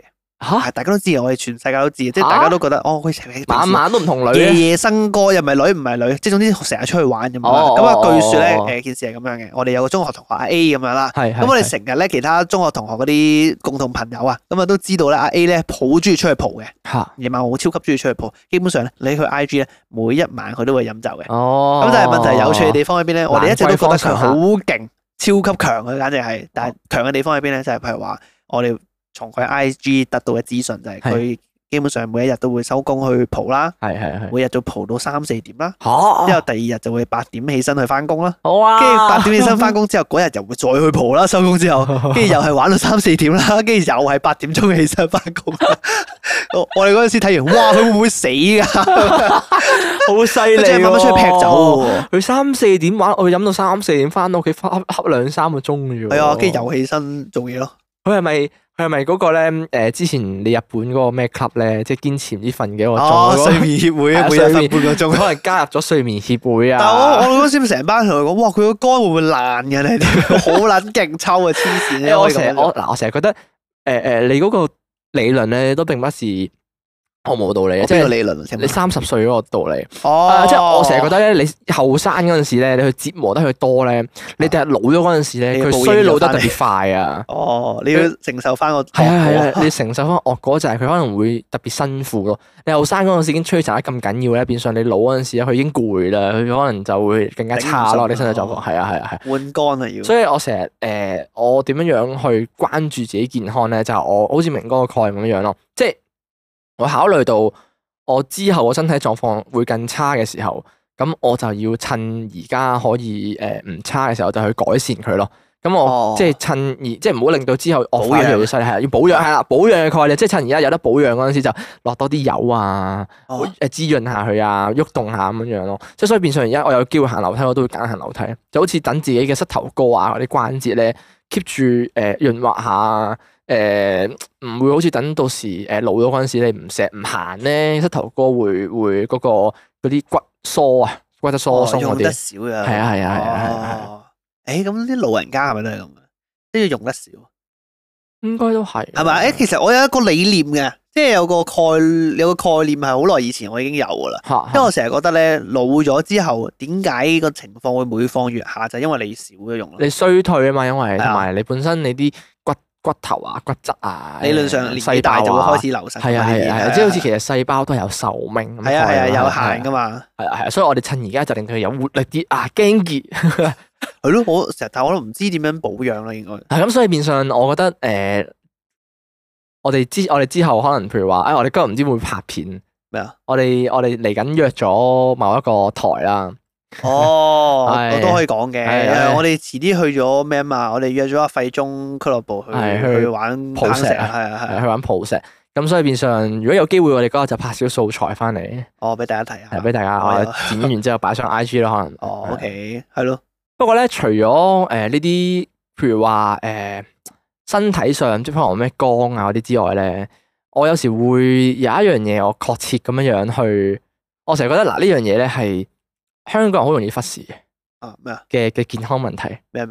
嚇， 大家都知，我哋全世界都知，即係大家都覺得哦，佢晚晚都唔同女夜嘅。 夜笙歌，又唔係女唔係女，即係總之成日出去玩咁樣。 哦咁啊，據說哦咧件事係咁樣嘅，我哋有個中學同學阿 A 咁樣啦。 係咁我哋成日咧，其他中學同學嗰啲共同朋友啊，咁啊都知道咧，阿 A 咧好中意出去蒲嘅， 嚇。 夜晚我超級中意出去蒲。基本上咧，你去 IG 咧，每一晚佢都會飲酒嘅。 哦。 咁但係問題有趣嘅地方喺邊咧？我哋一直都覺得佢好蘭勁，超級強佢簡直係。但係強嘅地方喺邊咧？就係譬如話，我哋從佢 IG 得到嘅資訊就係佢基本上每一日都會收工去蒲啦， 係。 每日都蒲到3-4點啦。 嚇。 之後第二日就會8點起身去翻工啦。 好啊。 跟住8點起身翻工之後，嗰日又會再去蒲啦，收工之後，跟住又係玩到3-4點啦，跟住又係8點鐘起身翻工。我哋嗰陣時睇完，哇！佢會唔會死㗎？ 好犀利喎！ 佢真係慢慢出去劈酒喎。 佢3-4點玩，我飲到3-4點翻到屋企，恰2-3個鐘嘅啫喎。 係啊，跟住又起身做嘢咯。 佢係咪嗰個咧？之前你日本嗰個咩 club 咧，即係堅持唔知瞓幾個鐘嗰個睡眠協會啊，每日瞓半個鐘。 可能加入咗睡眠協會啊。 但係我嗰時成班同佢講，哇！佢個肝會唔會爛嘅咧？好撚勁抽啊！黐線啊！ 我成日覺得你嗰個理論咧都並不是毫無道理嘅，即係即係理論。 你30歲嗰個道理。 哦， 即係我成日覺得咧，你後生嗰陣時咧，你去折磨得佢多咧，你第日老咗嗰陣時咧，佢衰老得特別快啊！ 哦，你要承受翻個係，你承受翻惡果就係佢可能會特別辛苦咯。你後生嗰陣時已經摧殘得咁緊要咧，變相你老嗰陣時咧，佢已經攰啦，佢可能就會更加差咯。你身體狀況係啊。 換肝啊要。 所以我成日我點樣樣去關注自己健康咧，就係我好似明哥個概念咁樣咯，即係我考慮到我之後個身體狀況會更差嘅時候，咁我就要趁而家可以唔差嘅時候就去改善佢咯。咁我即係趁即係唔好令到之後惡化越嚟越犀利，係要保養係啦，保養嘅概念，即係趁而家有得保養嗰陣時就落多啲油啊，滋潤下佢啊，喐動下咁樣樣咯。即係所以變相而家我有機會行樓梯，我都會揀行樓梯，就好似等自己嘅膝頭哥啊嗰啲關節咧 keep 住潤滑下。唔會好似等到時老咗嗰陣時，你唔行咧，膝頭哥會嗰啲骨疏啊，骨質疏鬆嗰用得啲。 少啊。 係啊。 咁啲老人家係咪都係咁嘅？都要用得少。 應該都係。 係咪？其實我有一個理念嘅，即係有個概念係好耐以前我已經有噶啦。因為我成日覺得咧，老咗之後，點解個情況會每況愈下？就係因為你少咗用咯。 你衰退啊嘛，因為同埋你本身你啲骨頭啊、骨質啊， 理論上年紀大就會開始流失。 係啊，即係好似其實細胞都係有壽命。 係啊，有限噶嘛。 係啊，所以我哋趁而家就令佢有活力啲啊，驚結。 係咯，我成日但係我都唔知點樣保養啦，應該。 係咁，所以變相我覺得我哋之後可能譬如話，我哋今日唔知會拍片咩啊？ 我哋嚟緊約咗某一個台啦。 我都可以講嘅。我哋遲啲去咗咩啊嘛？我哋約咗阿費中俱樂部去玩抱石啊，係去玩抱石。咁所以變相如果有機會，我哋嗰日就拍少素材翻嚟。 俾大家睇下。 係俾大家剪完之後擺上 IG 咯，可能。 OK，係咯。 不過咧，除咗呢啲，譬如話身體上即係可能咩光啊嗰啲之外咧，我有時會有一樣嘢我確切咁樣去，我成日覺得嗱呢樣嘢咧係香港人好容易忽視嘅。 咩啊？ 嘅健康問題。 咩？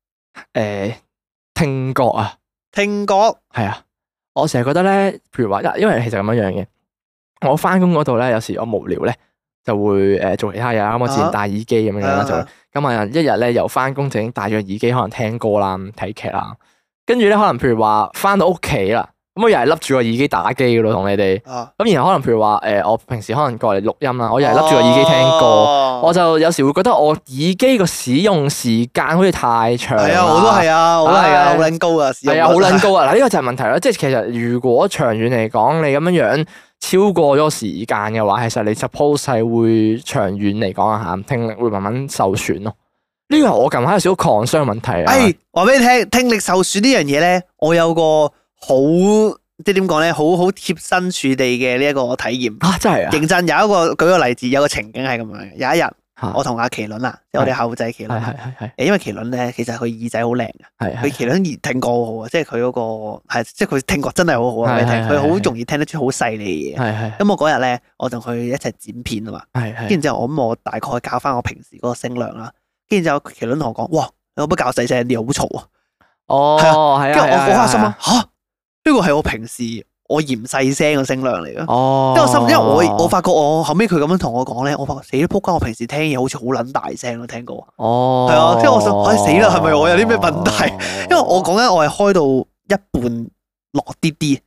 聽覺啊。 聽覺。係啊。我成日覺得咧，譬如話，因為其實咁樣樣嘅，我翻工嗰度咧，有時我無聊咧，就會做其他嘢啦。咁我自然戴耳機咁樣啦，就咁啊，一日咧由翻工就已經戴咗耳機，可能聽歌啦、睇劇啦。跟住咧，可能譬如話翻到屋企啦，咁我又係笠住個耳機打機噶咯，同你哋。咁然後可能譬如話，我平時可能過嚟錄音啦，我又係笠住個耳機聽歌，我就有時會覺得我耳機個使用時間好似太長。係啊，我都係啊，好撚高啊， 係啊，好撚高啊！嗱，呢個就係問題啦。即係其實如果長遠嚟講，你咁樣樣超過咗時間嘅話，其實你 suppose 係會長遠嚟講啊嚇，聽力會慢慢受損咯。呢個係我近排有少少 concern 嘅問題啊！ 話俾你聽，聽力受損呢樣嘢咧，我有個好即係點講咧，好貼身處地嘅呢一個體驗啊！真係啊！ 認真有一個舉個例子，有個情景係咁樣嘅。有一日，我同阿麒麟啊，即係我哋後仔麒麟， 係因為麒麟咧，其實佢耳仔好靚嘅，佢麒麟聽覺好好啊，即係佢嗰個係，即係佢聽覺真係好好啊！佢好容易聽得出好細膩嘅嘢。咁我嗰日咧，我同佢一齊剪片啊嘛，跟住之後我大概教翻我平時嗰個聲量啦。跟住就麒麟同我講：哇，你可唔可以教細聲啲，好嘈啊！ 係啊， 跟住我嗰下心諗：吓，呢個係我平時我嫌細聲嘅聲量嚟嘅。 哦， 因為我發覺我後尾佢咁樣同我講咧，我發覺死啦仆街！我平時聽嘢好似好撚大聲咯，聽過。 哦， 係啊，即係我想，死啦，係咪我有啲咩問題？因為我講緊我係開到一半落啲。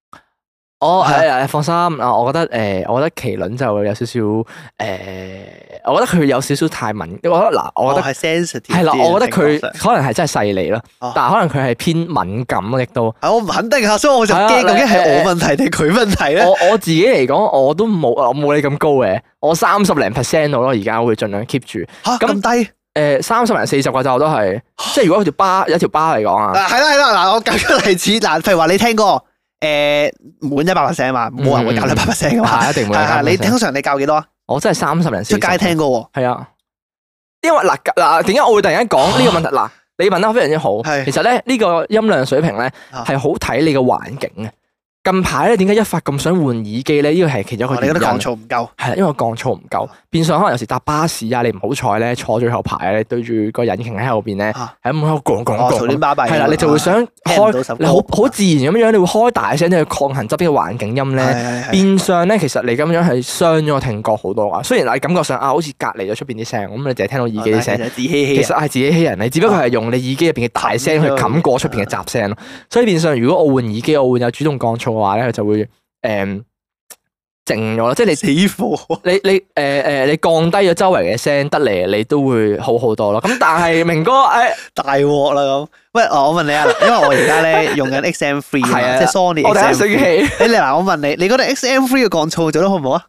放心啊！我覺得麒麟就有少少我覺得佢有少少太敏，我覺得嗱，我覺得係 sensitive 係啦，我覺得佢啲可能係真係細膩咯，但係可能佢係偏敏感亦都。 我唔肯定啊，所以我就驚究竟係我問題定佢問題咧？ 我自己嚟講，我都冇你咁高嘅，我30零% 度咯，而家會盡量 keep 住。 咁低 ？30零40個就都係，即係如果有條巴嚟講啊。 係啦，嗱，我舉個例子，嗱，譬如話你聽歌。滿100%嘛，冇人會教你100%噶嘛， 一定會。 你通常你教幾多啊？ 我真係30零40。 出街聽歌喎。 係啊，因為嗱，點解我會突然間講呢個問題？嗱，你問得非常之好。其實咧呢個音量水平咧係好睇你嘅環境嘅。近排咧點解一發咁想換耳機咧？呢個係其中一個原因。 你覺得降噪唔夠？ 係啦，因為降噪唔夠，變相可能有時搭巴士啊，你唔好彩咧坐最後排咧，對住個引擎喺後邊咧，喺咁喺度講嘈亂巴閉。 係啦，你就會想開，你好自然咁樣，你會開大聲去抗衡側邊嘅環境音咧。變相咧，其實你咁樣係傷咗個聽覺好多啊。雖然你感覺上好似隔離咗出邊啲聲，咁你淨係聽到耳機啲聲，其實係自欺欺人。你只不過係用你耳機入邊嘅大聲去冚過出邊嘅雜聲咯。所以變相如果我換耳機，我換有主動降噪嘅話咧，佢就會靜咗咯，即係你死火， 你降低咗周圍嘅聲得嚟，你都會好好多咯。咁但係明哥， 大鑊啦咁。喂，我問你啊，因為我而家咧用緊 XM3 啊，即係 Sony。 我第一醒起。 嗱，我問你，你覺得 XM3 嘅降噪做得好唔好啊？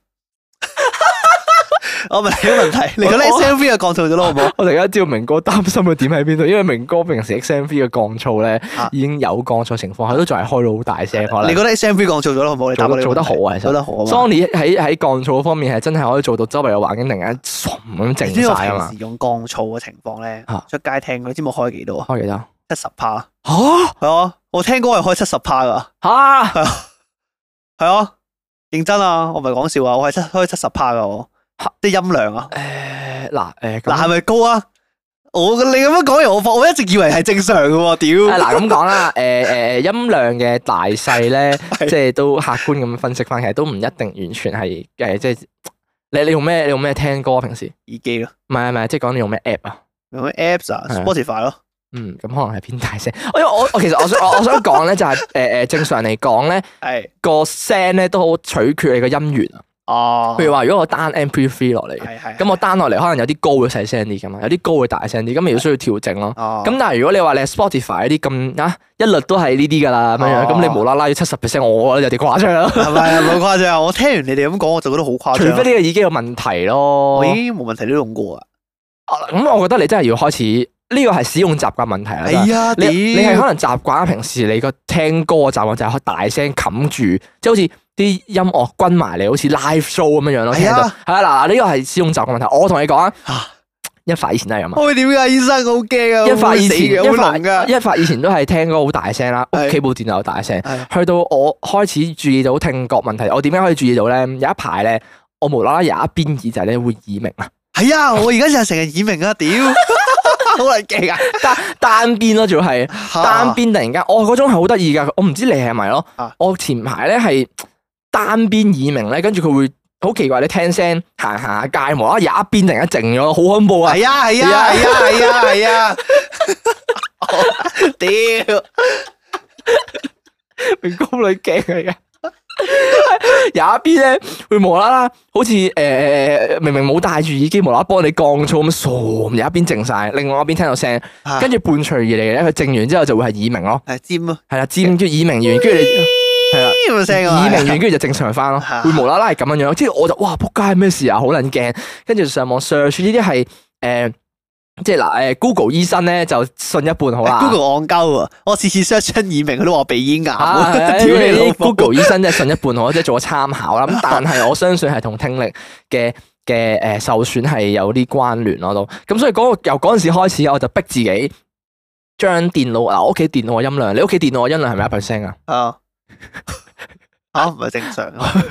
我問你個問題，你覺得 XM3 嘅降噪做得好唔好？ 我突然間知道明哥擔心嘅點喺邊度，因為明哥平時 XM3 嘅降噪咧已經有降噪情況，佢都仲係開到好大聲。可能你覺得 XM3 降噪做得好唔好？你做得好啊， 做得好啊。 Sony 喺降噪方面係真係可以做到周圍嘅環境突然間咁靜晒啊嘛。 平時用降噪嘅情況咧，出街聽，你知冇開幾多啊？ 開幾多 ？70%。吓？係啊，我聽歌係開70%噶。 吓？ 係啊，認真啊，我唔係講笑啊，我係開70%噶我。啲音量啊？嗱，係咪高啊？你咁樣講完，我一直以為係正常嘅喎，屌！ 嗱咁講啦，音量嘅大細咧，即係都客觀咁分析翻，其實都唔一定完全係即係你用咩聽歌啊？平時耳機咯？ 唔係，即係講你用咩 app 啊？ 用咩 apps 啊 ？Spotify 咯。 咁可能係偏大聲。因為我其實我想講咧，就係正常嚟講咧，個聲咧都好取決你個音源啊。譬如話如果我單 MP3 落嚟嘅，咁我單落嚟可能有啲高會細聲啲噶嘛，有啲高會大聲啲，咁咪要需要調整咯。咁但係如果你話你係 Spotify 啲咁一律都係呢啲噶啦咁樣，咁你無啦啦要70%，我覺得有啲誇張啦。係咪冇誇張？我聽完你哋咁講，我就覺得好誇張。 除非呢個耳機有問題咯。 我已經冇問題都用過啊。 咁我覺得你真係要開始。呢個係使用習慣問題啦。 係啊， 你係可能習慣平時你個聽歌嘅習慣就係開大聲冚住，即係好似啲音樂均埋嚟，好似 live show 咁樣樣咯。係啊，係啊，嗱，呢個係使用習慣問題。我同你講啊，一發以前都係咁啊。 會點㗎？醫生好驚啊！ 一發以前都係聽歌好大聲啦，屋企部電腦又大聲。去到我開始注意到聽覺問題，我點樣可以注意到咧？有一排咧，我無啦啦有一邊耳仔咧會耳鳴啊。係啊， 我而家就係成日耳鳴啊！屌！好撚勁啊！ 單邊咯，仲要係單邊，突然間，嗰種係好得意噶。我唔知你係咪咯？我前排咧係單邊耳鳴咧，跟住佢會好奇怪，你聽聲行下街，無啦啦有一邊突然間靜咗，好恐怖啊！ 係啊！屌， 明哥你驚嚟嘅。有一邊咧會無啦啦，好似明明冇戴住耳機，無啦啦幫你降噪咁，傻有一邊靜晒，另外一邊聽到聲，跟住伴隨而嚟咧，佢靜完之後就會係耳鳴咯， 係尖咯， 係啦，尖叫耳鳴完，跟住你係啦，耳鳴完跟住就正常翻咯，會無啦啦係咁樣樣，即係我就哇仆街咩事啊，好撚驚，跟住上網 search 呢啲係即係嗱，Google 醫生咧就信一半好啦。 Google 戇鳩啊！我次次 search 親耳鳴，佢都話鼻咽癌。 屌你老 Google 醫生即係信一半好，即係做個參考啦。咁但係我相信係同聽力嘅受損係有啲關聯咯都。咁所以由嗰陣時開始，我就逼自己將電腦我屋企電腦嘅音量，你屋企電腦嘅音量係咪1% 啊？ 唔係正常。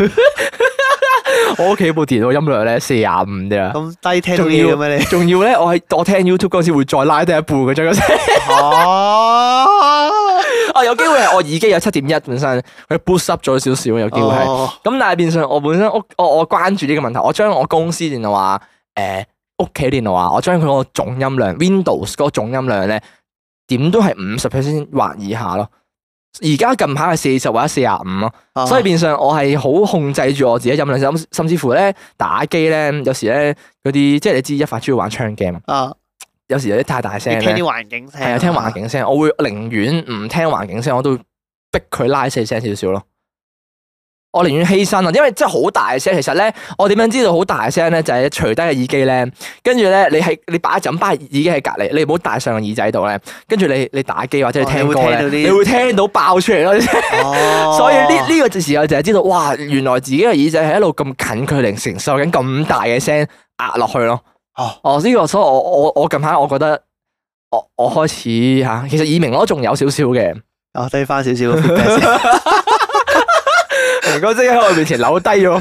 我屋企部電腦音量咧45啫， 咁低聽到嘢嘅咩你？ 仲要咧，我聽 YouTube 嗰時會再拉低一半嘅將個聲。 有機會係我耳機有7.1本身，佢 boost up 咗少少，有機會係。咁但係變相我本身我關注呢個問題，我將我公司電腦啊，屋企電腦啊，我將佢個總音量 Windows 嗰個總音量咧，點都係50% 或以下咯。而家近排係40或者45咯，所以變相我係好控制住我自己音量，甚至乎咧打機咧，有時咧嗰啲即係你知一發中意玩槍 game 啊，有時有啲太大聲咧， 聽啲環境聲， 係啊，聽環境聲，我會寧願唔聽環境聲，我都逼佢拉細聲少少咯。我寧願犧牲啊，因為真係好大聲。其實咧，我點樣知道好大聲咧？就係除低個耳機咧，跟住咧，你擺耳機喺隔離，你唔好戴上個耳仔度咧。跟住你打機或者你聽歌咧，你會聽到爆出嚟咯。所以呢個時候就係知道，哇！原來自己嘅耳仔係一路咁近距離承受緊咁大嘅聲壓落去咯。呢個所以我近排我覺得我開始嚇，其實耳鳴我仲有少少嘅。 低翻少少嘅 feedback 先。 明哥即刻喺我面前扭低咗個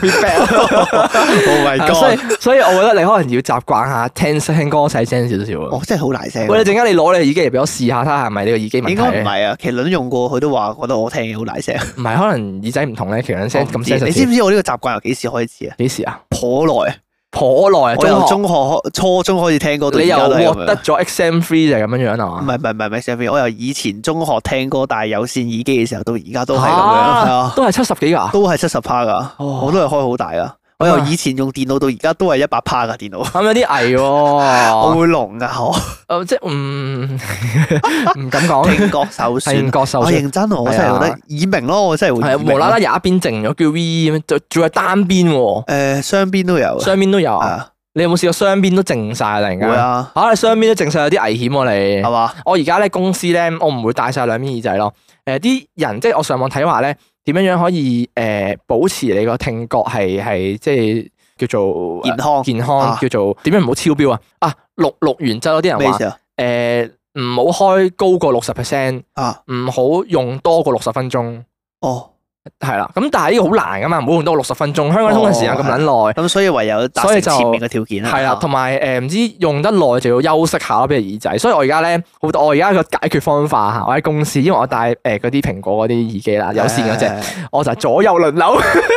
feedback，Oh my god！所以我覺得你可能要習慣下聽歌細聲少少啊。 真係好大聲。 喂，你陣間你攞你耳機嚟俾我試下，睇下係咪你個耳機問題？ 應該唔係啊，麒麟用過，佢都話覺得我聽嘢好大聲。 唔係，可能耳仔唔同咧，麒麟聲咁聲。 你知唔知我呢個習慣由幾時開始啊？ 幾時啊？ 頗耐。 我由中學初中開始聽歌到而家都係咁樣。你又獲得咗 XM3 就係咁樣樣啊嘛？ 唔係 XM3，我由以前中學聽歌，但係有線耳機嘅時候到而家都係咁樣，係啊， 都係70幾㗎， 都係70%㗎，我都係開好大㗎。我由以前用電腦到而家都係100%㗎電腦。 係咪有啲危喎？ 我會聾㗎， 即係唔敢講。 聽覺受損。我認真，我真係覺得耳鳴咯，我真係會。 係無啦啦有一邊靜咗，叫 V 咁樣，仲係單邊喎。 雙邊都有。 雙邊都有啊？你有冇試過雙邊都靜晒突然間？會啊！你雙邊都靜晒有啲危險喎，你係嘛？我而家咧公司咧，我唔會戴晒兩邊耳仔咯。啲人即係我上網睇話咧，點樣可以保持你個聽覺係即係叫做健康，叫做點樣唔好超標啊？錄完之後有啲人話唔好開高過60%，唔好用多過60分鐘。係啦，咁但係呢個好難噶嘛，唔好用多60分鐘。香港通勤時間咁撚耐，咁所以唯有達成前面嘅條件啦。 係啦，同埋唔知用得耐就要休息下咯，俾個耳仔。所以我而家咧，我而家個解決方法嚇，我喺公司，因為我戴嗰啲蘋果嗰啲耳機啦，有線嗰隻，我就左右輪流。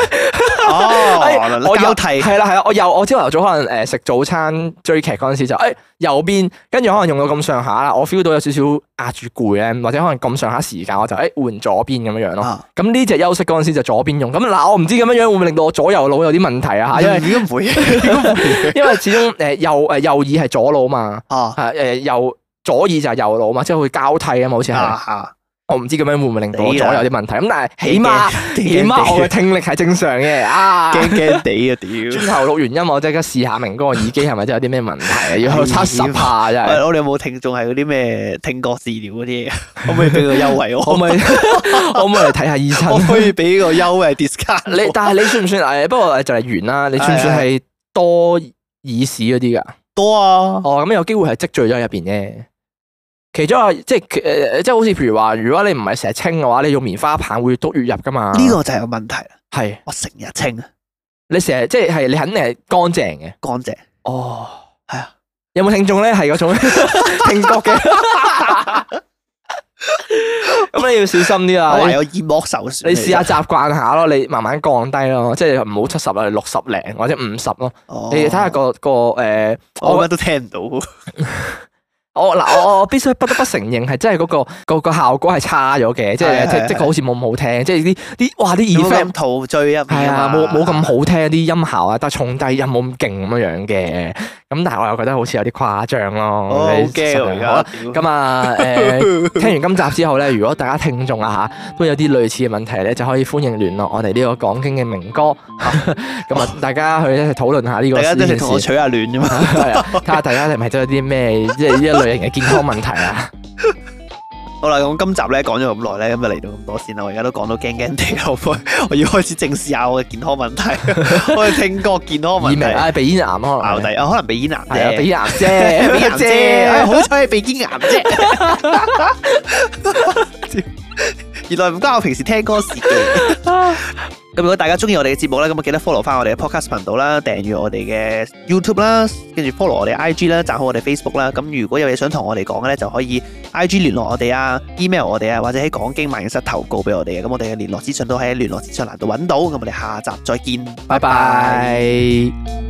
我交替係啦，我朝頭早可能食早餐追劇嗰陣時就右邊，跟住可能用到咁上下啦，我 feel 到有少少壓住攰咧，或者可能咁上下時間，我就換左邊咁樣樣咯。咁呢隻休息嗰陣時就左邊用。咁嗱，我唔知咁樣樣會唔會令到我左右腦有啲問題啊？因為應該唔會， 因為始終右耳係左腦嘛，左耳就係右腦嘛，即係會交替啊嘛，好似係。我唔知咁樣會唔會令到我左右有啲問題，咁但係起碼我嘅聽力係正常嘅。 驚驚地啊！屌， 轉頭錄完音，我即刻試下明哥個耳機係咪真係有啲咩問題啊？要去測試下真係。 我哋有冇聽眾係嗰啲咩聽覺治療嗰啲？可唔可以俾個優惠我？ 可唔可以嚟睇下醫生？ 我可以俾個優惠 discount。 但係你算唔算不過就嚟完啦。你算唔算係多耳屎嗰啲㗎？ 多啊！ 咁有機會係積聚咗喺入邊啫。其中即係好似譬如話，如果你唔係成日清嘅話，你用棉花棒會越篤越入噶嘛？呢個就係個問題啦。 係我成日清啊！ 你成日即係你肯定係乾淨嘅。 乾淨。係啊。 有冇聽眾咧係嗰種聽覺嘅？咁你要小心啲啦。 我有耳膜受損。 你試下習慣下咯，你慢慢降低咯，即係唔好70啦，60零或者50咯。你睇下個我乜都聽唔到。 我必須不得不承認係真係嗰個效果係差咗嘅，即係好似冇咁好聽，即係啲耳 fan 陶醉啊， 係啊，冇咁好聽啲音效啊，但係重低音冇咁勁咁樣嘅，咁但係我又覺得好似有啲誇張咯。 好驚而家。 咁啊聽完今集之後咧，如果大家聽眾啊嚇都有啲類似嘅問題咧，就可以歡迎聯絡我哋呢個講經嘅明哥。咁啊，大家去一齊討論下呢個。大家都係同我取下暖啫嘛。 係啊，睇下大家係咪都有啲咩即係呢一類型嘅健康問題啊？ 好啦，咁今集咧講咗咁耐咧，咁就嚟到咁多先啦。我而家都講到驚驚地，我要開始正視下我嘅健康問題。我嘅聽覺健康問題， 鼻咽癌可能鼻咽癌啫， 鼻咽癌啫， 鼻咽癌啫。好彩係鼻咽癌啫。原來唔關我平時聽歌事嘅。 咁如果大家中意我哋嘅節目咧，咁記得 follow 翻我哋嘅 podcast 頻道啦，訂閱我哋嘅 YouTube 啦，跟住 follow 我哋 IG 啦，讚好我哋 Facebook 啦。咁如果有嘢想同我哋講嘅咧，就可以 IG 聯絡我哋啊 ，email 我哋啊，或者喺講經萬應室投稿俾我哋嘅。咁我哋嘅聯絡資訊都喺聯絡資訊欄度揾到。咁我哋下集再見， 拜拜。